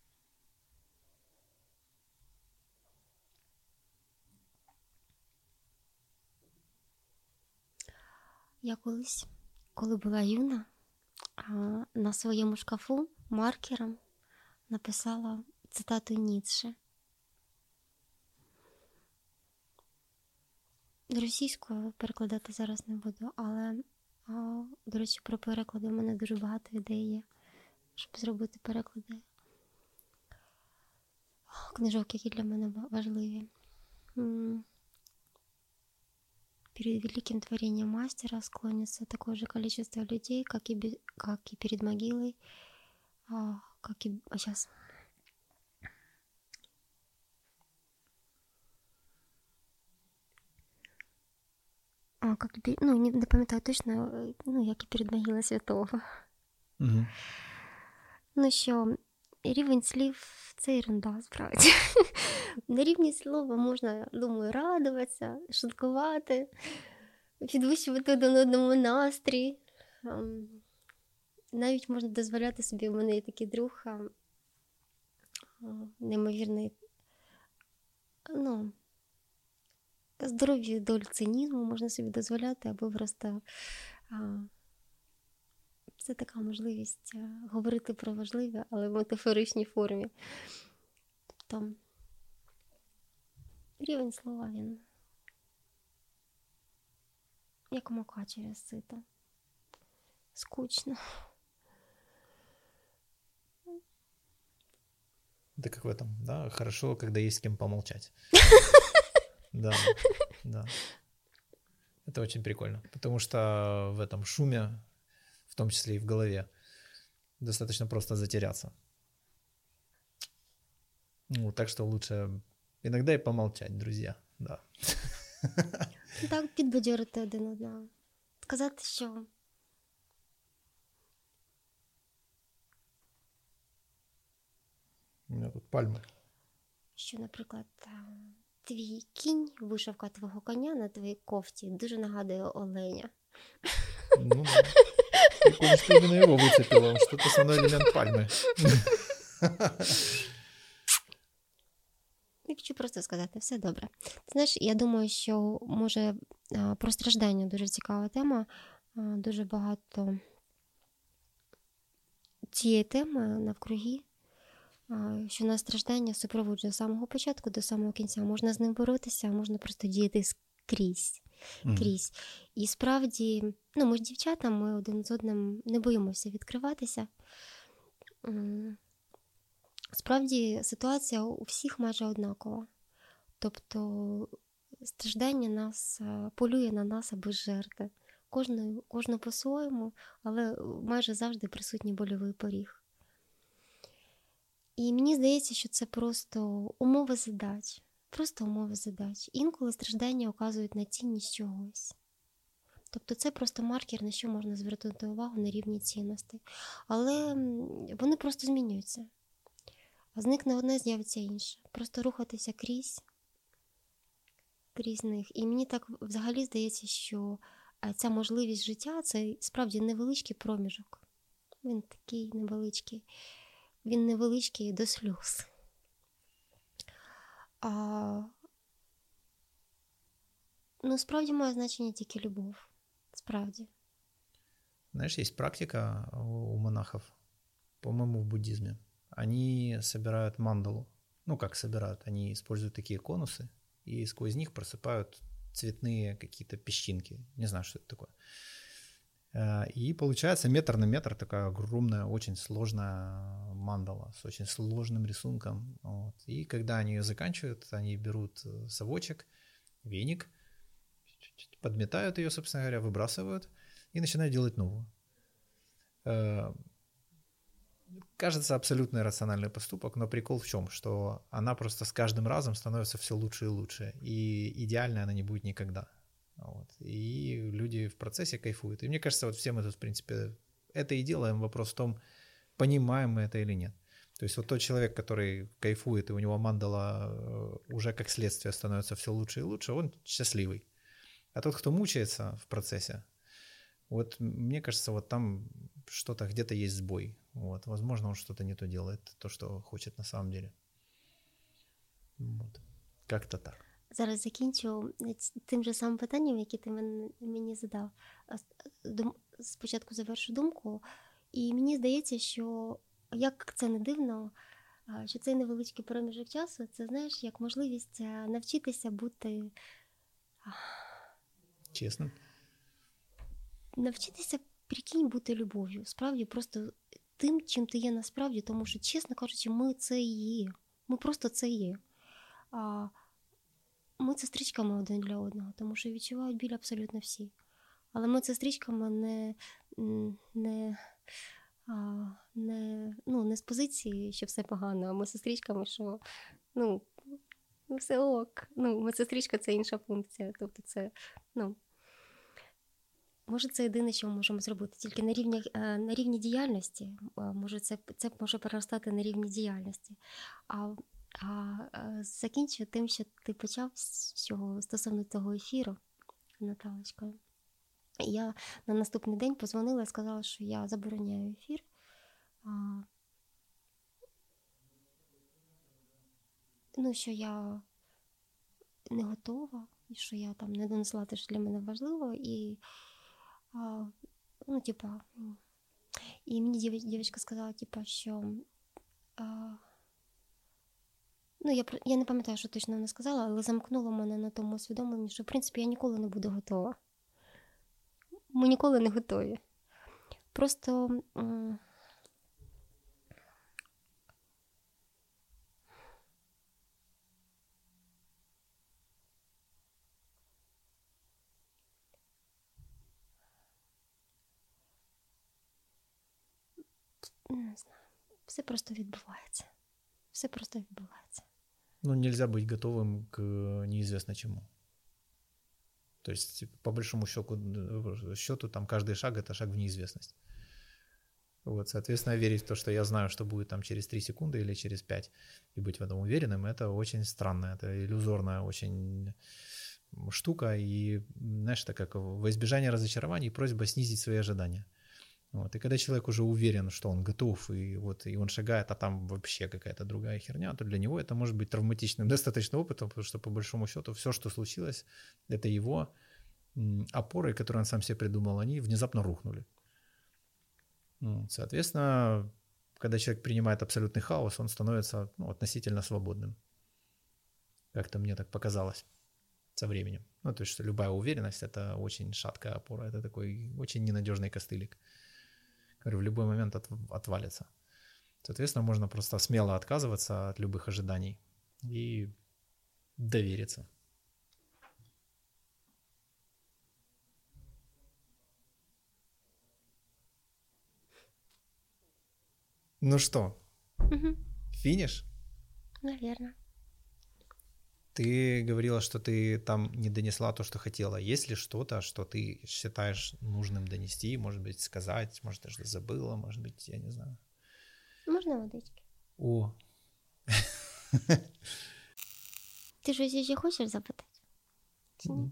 Я колись, коли була юна, на своєму шкафу маркером написала цитату Ніцше. Російською перекладати зараз не буду, але, до речі, про переклади в мене дуже багато ідей є, щоб зробити переклади книжок, які для мене важливі. Перед великим творением мастера склонится такое же количество людей, как и перед могилой, сейчас. Не пам'ятаю точно, як і перед могилою святого. Угу. Що рівень слів – це ерунда, справді. На рівні слова можна, думаю, радуватися, шуткувати, підвищувати один одному настрій. Навіть можна дозволяти собі, у мене є такий друг, неймовірний, здоров'я долю цинізму можна собі дозволяти, або просто це така можливість говорити про важливе, але в метафоричній формі. Тобто рівень слова, він як мука через сито. Скучно. Это как в этом, да? Хорошо, когда есть с кем помолчать. Да. Это очень прикольно, потому что в этом шуме, в том числе и в голове, достаточно просто затеряться. Так что лучше иногда и помолчать, друзья, да. Так, підбадьорити один одного. Сказати, що у меня тут пальмы. Що, наприклад, твій кінь, вишивка твого коня на твоїй кофті дуже нагадує оленя. Ну да. Прикольно, что именно его выцепило. Он что-то со мной элемент пальмы. Я хочу просто сказати, все добре. Ти знаєш, я думаю, що, може, про страждання дуже цікава тема. Дуже багато цієї теми навкруги, що нас страждання супроводжує з самого початку до самого кінця. Можна з ним боротися, а можна просто діяти скрізь. І справді, ми ж дівчата, ми один з одним не боїмося відкриватися. Справді, ситуація у всіх майже однакова. Тобто, страждання нас полює на нас аби жертви. Кожна по-своєму, але майже завжди присутній больовий поріг. І мені здається, що це просто умови задач. Просто умови задач. Інколи страждання указують на цінність чогось. Тобто це просто маркер, на що можна звернути увагу на рівні цінностей. Але вони просто змінюються. А зникне одне, з'явиться інше. Просто рухатися крізь них. І мені так взагалі здається, що ця можливість життя – це справді невеличкий проміжок. Він такий невеличкий. Він невеличкий до сльоз. Справді має значення тільки любов. Справді. Знаешь, есть практика у монахов, по-моему, в буддизме. Они собирают мандалу. Ну, как собирают? Они используют такие конусы, и сквозь них просыпают цветные какие-то песчинки. Не знаю, что это такое. И получается метр на метр такая огромная, очень сложная мандала с очень сложным рисунком. Вот. И когда они ее заканчивают, они берут совочек, веник, подметают ее, собственно говоря, выбрасывают и начинают делать новую. Кажется, абсолютно иррациональный поступок, но прикол в чем? Что она просто с каждым разом становится все лучше и лучше, и идеальной она не будет никогда. Вот. И люди в процессе кайфуют. И мне кажется, вот все мы тут, в принципе, это и делаем. Вопрос в том, понимаем мы это или нет. То есть вот тот человек, который кайфует, и у него мандала уже как следствие становится все лучше и лучше, он счастливый. А тот, кто мучается в процессе, вот мне кажется, вот там что-то, где-то есть сбой. Вот. Возможно, он что-то не то делает, то, что хочет на самом деле. Вот. Как-то так. Зараз закінчу тим же самим питанням, яке ти мені задав. Спочатку завершу думку. І мені здається, що, як це не дивно, що цей невеличкий проміжок часу, це, знаєш, як можливість навчитися бути... Чесно? Навчитися, прикинь, бути любов'ю. Справді, просто тим, чим ти є насправді, тому що, чесно кажучи, ми це і є. Ми просто це є. Ми це стрічками один для одного, тому що відчувають біль абсолютно всі. Але ми це стрічками не з позиції, що все погано, а ми це стрічками, що все ок. Ми це стрічка, це інша функція. Тобто це, може, це єдине, що ми можемо зробити. Тільки на рівні діяльності, може, це може переростати на рівні діяльності. Закінчу тим, що ти почав стосовно того ефіру, Наталочка. Я на наступний день подзвонила і сказала, що я забороняю ефір. Що я не готова, і що я там не донесла те, що для мене важливо. І, і мені дівчинка сказала, що... Я не пам'ятаю, що точно вона сказала, але замкнула мене на тому усвідомленні, що, в принципі, я ніколи не буду готова. Ми ніколи не готові. Просто... Не знаю. Все просто відбувається. Все просто відбувається. Нельзя быть готовым к неизвестно чему. То есть, по большому счету там каждый шаг – это шаг в неизвестность. Вот, соответственно, верить в то, что я знаю, что будет там через 3 секунды или через 5, и быть в этом уверенным – это очень странно, это иллюзорная, очень штука, и, знаешь, это как во избежание разочарований просьба снизить свои ожидания. Вот. И когда человек уже уверен, что он готов, и он шагает, а там вообще какая-то другая херня, то для него это может быть травматичным достаточно опытом, потому что по большому счету все, что случилось, это его опоры, которые он сам себе придумал, они внезапно рухнули. Соответственно, когда человек принимает абсолютный хаос, он становится относительно свободным. Как-то мне так показалось со временем. То есть, что любая уверенность — это очень шаткая опора, это такой очень ненадежный костылик, который в любой момент отвалится. Соответственно, можно просто смело отказываться от любых ожиданий и довериться. Ну что, финиш? Наверное. Ты говорила, что ты там не донесла то, что хотела. Есть ли что-то, что ты считаешь нужным донести, может быть, сказать, может, даже забыла, может быть, я не знаю. Можна водички? О. Ти щось ще хочеш запитати? Чи ні?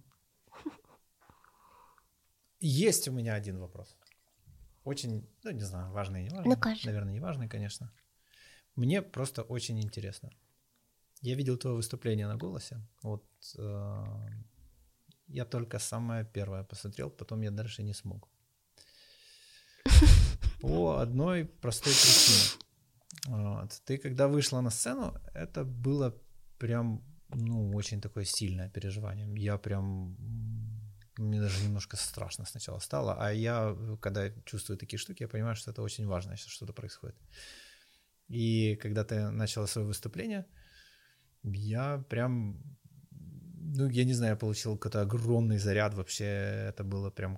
Есть у меня один вопрос. Очень, не знаю, важный, не важный. Ну, кажи. Наверное, не важный, конечно. Мне просто очень интересно. Я видел твое выступление на «Голосе». Вот я только самое первое посмотрел, потом я дальше не смог. По одной простой причине. Ты когда вышла на сцену, это было прям, очень такое сильное переживание. Мне даже немножко страшно сначала стало, а я, когда чувствую такие штуки, я понимаю, что это очень важно, если что-то происходит. И когда ты начала свое выступление, я прям, я не знаю, я получил какой-то огромный заряд вообще, это было прям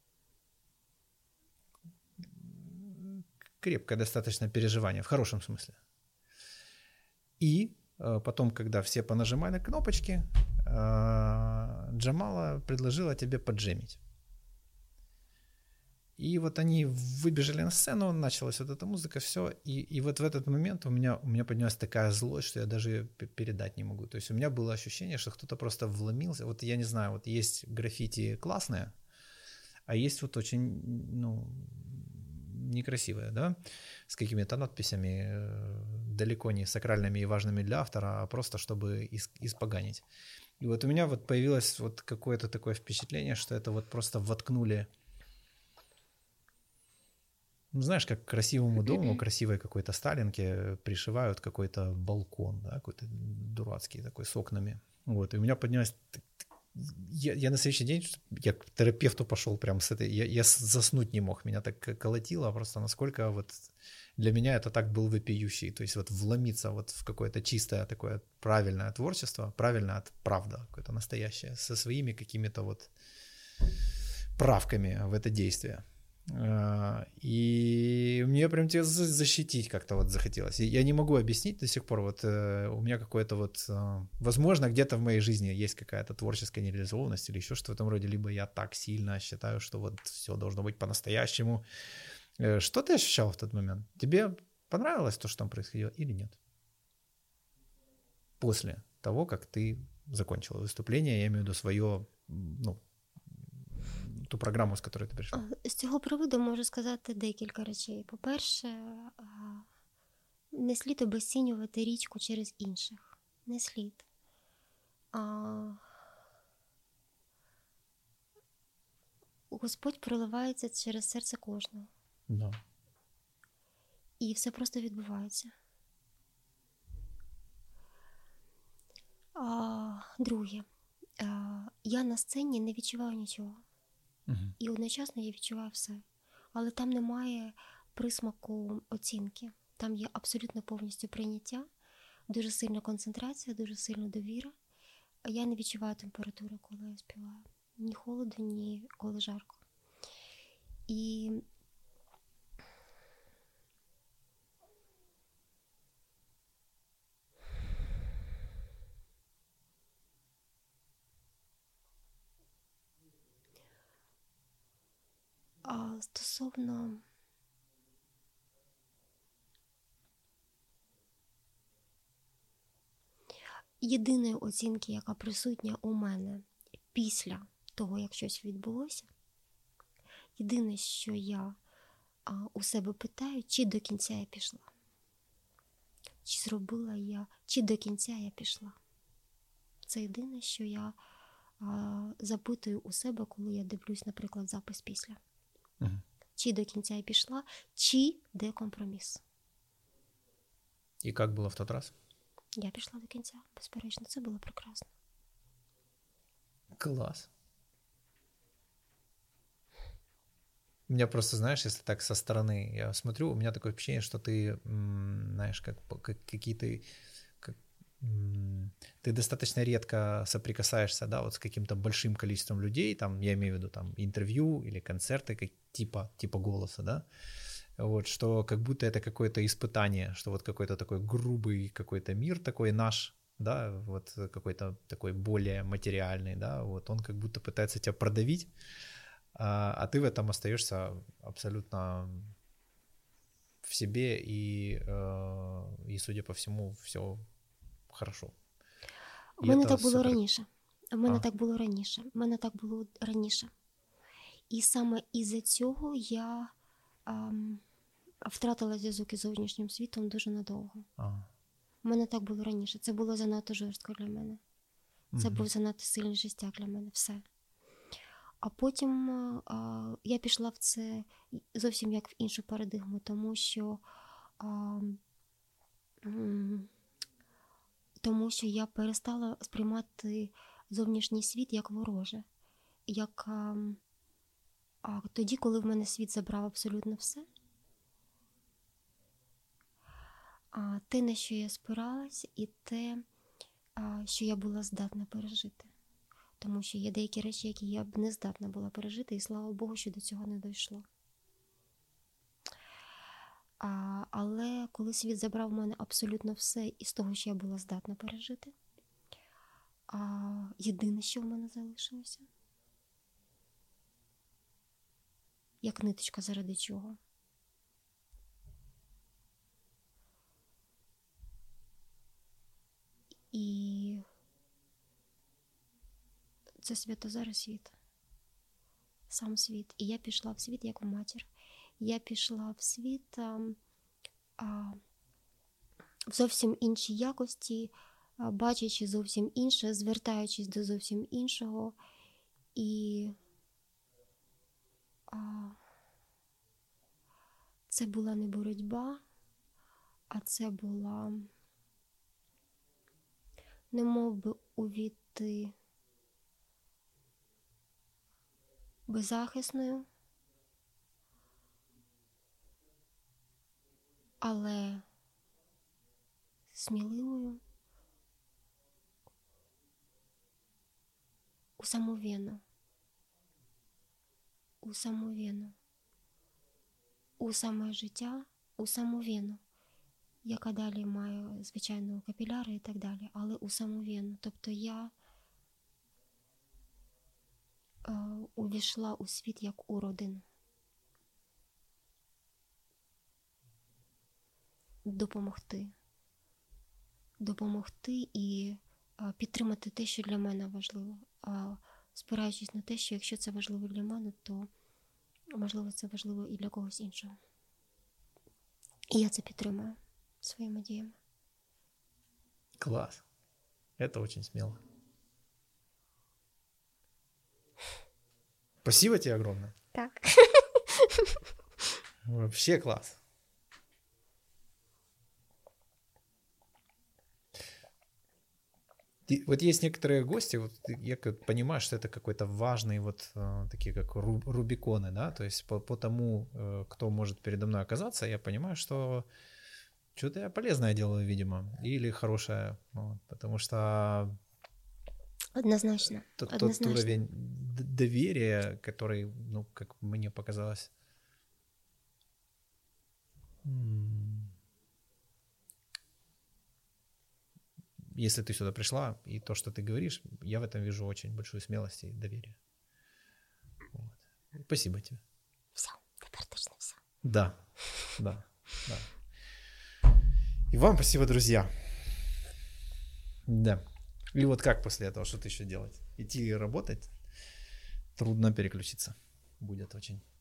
крепкое достаточно переживание, в хорошем смысле. И потом, когда все понажимали кнопочки, Джамала предложила тебе поджемить. И вот они выбежали на сцену, началась вот эта музыка, все. И вот в этот момент у меня поднялась такая злость, что я даже передать не могу. То есть у меня было ощущение, что кто-то просто вломился. Вот я не знаю, вот есть граффити классные, а есть вот очень, некрасивые, да, с какими-то надписями, далеко не сакральными и важными для автора, а просто чтобы испоганить. И вот у меня вот появилось вот какое-то такое впечатление, что это вот просто воткнули, знаешь, как к красивому дому, красивой какой-то сталинке пришивают какой-то балкон, да, какой-то дурацкий такой с окнами. Вот, и у меня поднялась... Я на следующий день, я к терапевту пошел прям с этой... Я заснуть не мог, меня так колотило просто, насколько вот для меня это так был вопиющий. То есть вот вломиться вот в какое-то чистое такое правильное творчество, правильное от правда, какое-то настоящее, со своими какими-то вот правками в это действие. И мне прям тебя защитить как-то вот захотелось. И я не могу объяснить до сих пор, вот у меня какое-то вот, возможно, где-то в моей жизни есть какая-то творческая нереализованность или еще что-то в этом роде, либо я так сильно считаю, что вот все должно быть по-настоящему. Что ты ощущал в тот момент? Тебе понравилось то, что там происходило, или нет? После того, как ты закончила выступление, я имею в виду свое, ту програму, з якою ти прийшла? З цього приводу можу сказати декілька речей. По-перше, не слід обесцінювати річку через інших. Не слід. Господь проливається через серце кожного. Да. І все просто відбувається. Друге, я на сцені не відчуваю нічого. І одночасно я відчуваю все. Але там немає присмаку оцінки. Там є абсолютно повністю прийняття, дуже сильна концентрація, дуже сильна довіра. Я не відчуваю температури, коли я співаю. Ні холоду, ні коли жарко. І стосовно єдиної оцінки, яка присутня у мене після того, як щось відбулося, єдине, що я у себе питаю, чи до кінця я пішла. Чи зробила я, чи до кінця я пішла. Це єдине, що я запитую у себе, коли я дивлюсь, наприклад, запис після. Угу. Чи до кінця я пішла, чи де компроміс. І як було в той раз? Я пішла до кінця, безперечно. Це було прекрасно. Класс. У меня просто, знаешь, если так со стороны я смотрю, у меня такое ощущение, что ты, знаешь, как какие-то... ты достаточно редко соприкасаешься, да, вот с каким-то большим количеством людей, там, я имею в виду, там, интервью или концерты как, типа «Голоса», да, вот, что как будто это какое-то испытание, что вот какой-то такой грубый какой-то мир такой наш, да, вот какой-то такой более материальный, да, вот он как будто пытается тебя продавить, а ты в этом остаешься абсолютно в себе, и судя по всему, все хорошо. У мене так було раніше. У мене так було раніше. І саме із-за цього я втратила зв'язок із зовнішнім світом дуже надовго. У мене так було раніше. Це було занадто жорстко для мене. Це був занадто сильний жестяк для мене. Все. А потім я пішла в це зовсім як в іншу парадигму, тому що я перестала сприймати зовнішній світ як вороже. Як тоді, коли в мене світ забрав абсолютно все, те, на що я спиралась, і те, що я була здатна пережити. Тому що є деякі речі, які я б не здатна була пережити, і слава Богу, що до цього не дійшло. Але коли світ забрав в мене абсолютно все із того, що я була здатна пережити, єдине, що в мене залишилося, як ниточка, заради чого. І це Святозар світ. Сам світ. І я пішла в світ як матір. Я пішла в світ в зовсім іншій якості, бачачи зовсім інше, звертаючись до зовсім іншого. І це була не боротьба, а це була немов би увійти беззахисною, але сміливою у саму вену, у саме життя, у саму вену, яка далі має, звичайно, капіляри і так далі, але у саму вену. Тобто я увійшла у світ як у родину. Допомогти і підтримати те, що для мене важливо. Спираючись на те, що якщо це важливо для мене, то, можливо, це важливо і для когось іншого. І я це підтримую своїми діями. Класс. Это очень смело. Спасибо тебе огромное. Так. Вообще класс. И вот есть некоторые гости, вот я понимаю, что это какой-то важный, вот такие как рубиконы, да, то есть по тому, кто может передо мной оказаться, я понимаю, что что-то я полезное делаю, видимо, или хорошее, вот, потому что Однозначно. тот уровень доверия, который, ну, как мне показалось, если ты сюда пришла, и то, что ты говоришь, я в этом вижу очень большую смелость и доверие. Вот. Спасибо тебе. Все, теперь точно все. Да. И вам спасибо, друзья. Да. Или вот как после этого, что-то еще делать? Идти работать? Трудно переключиться будет очень.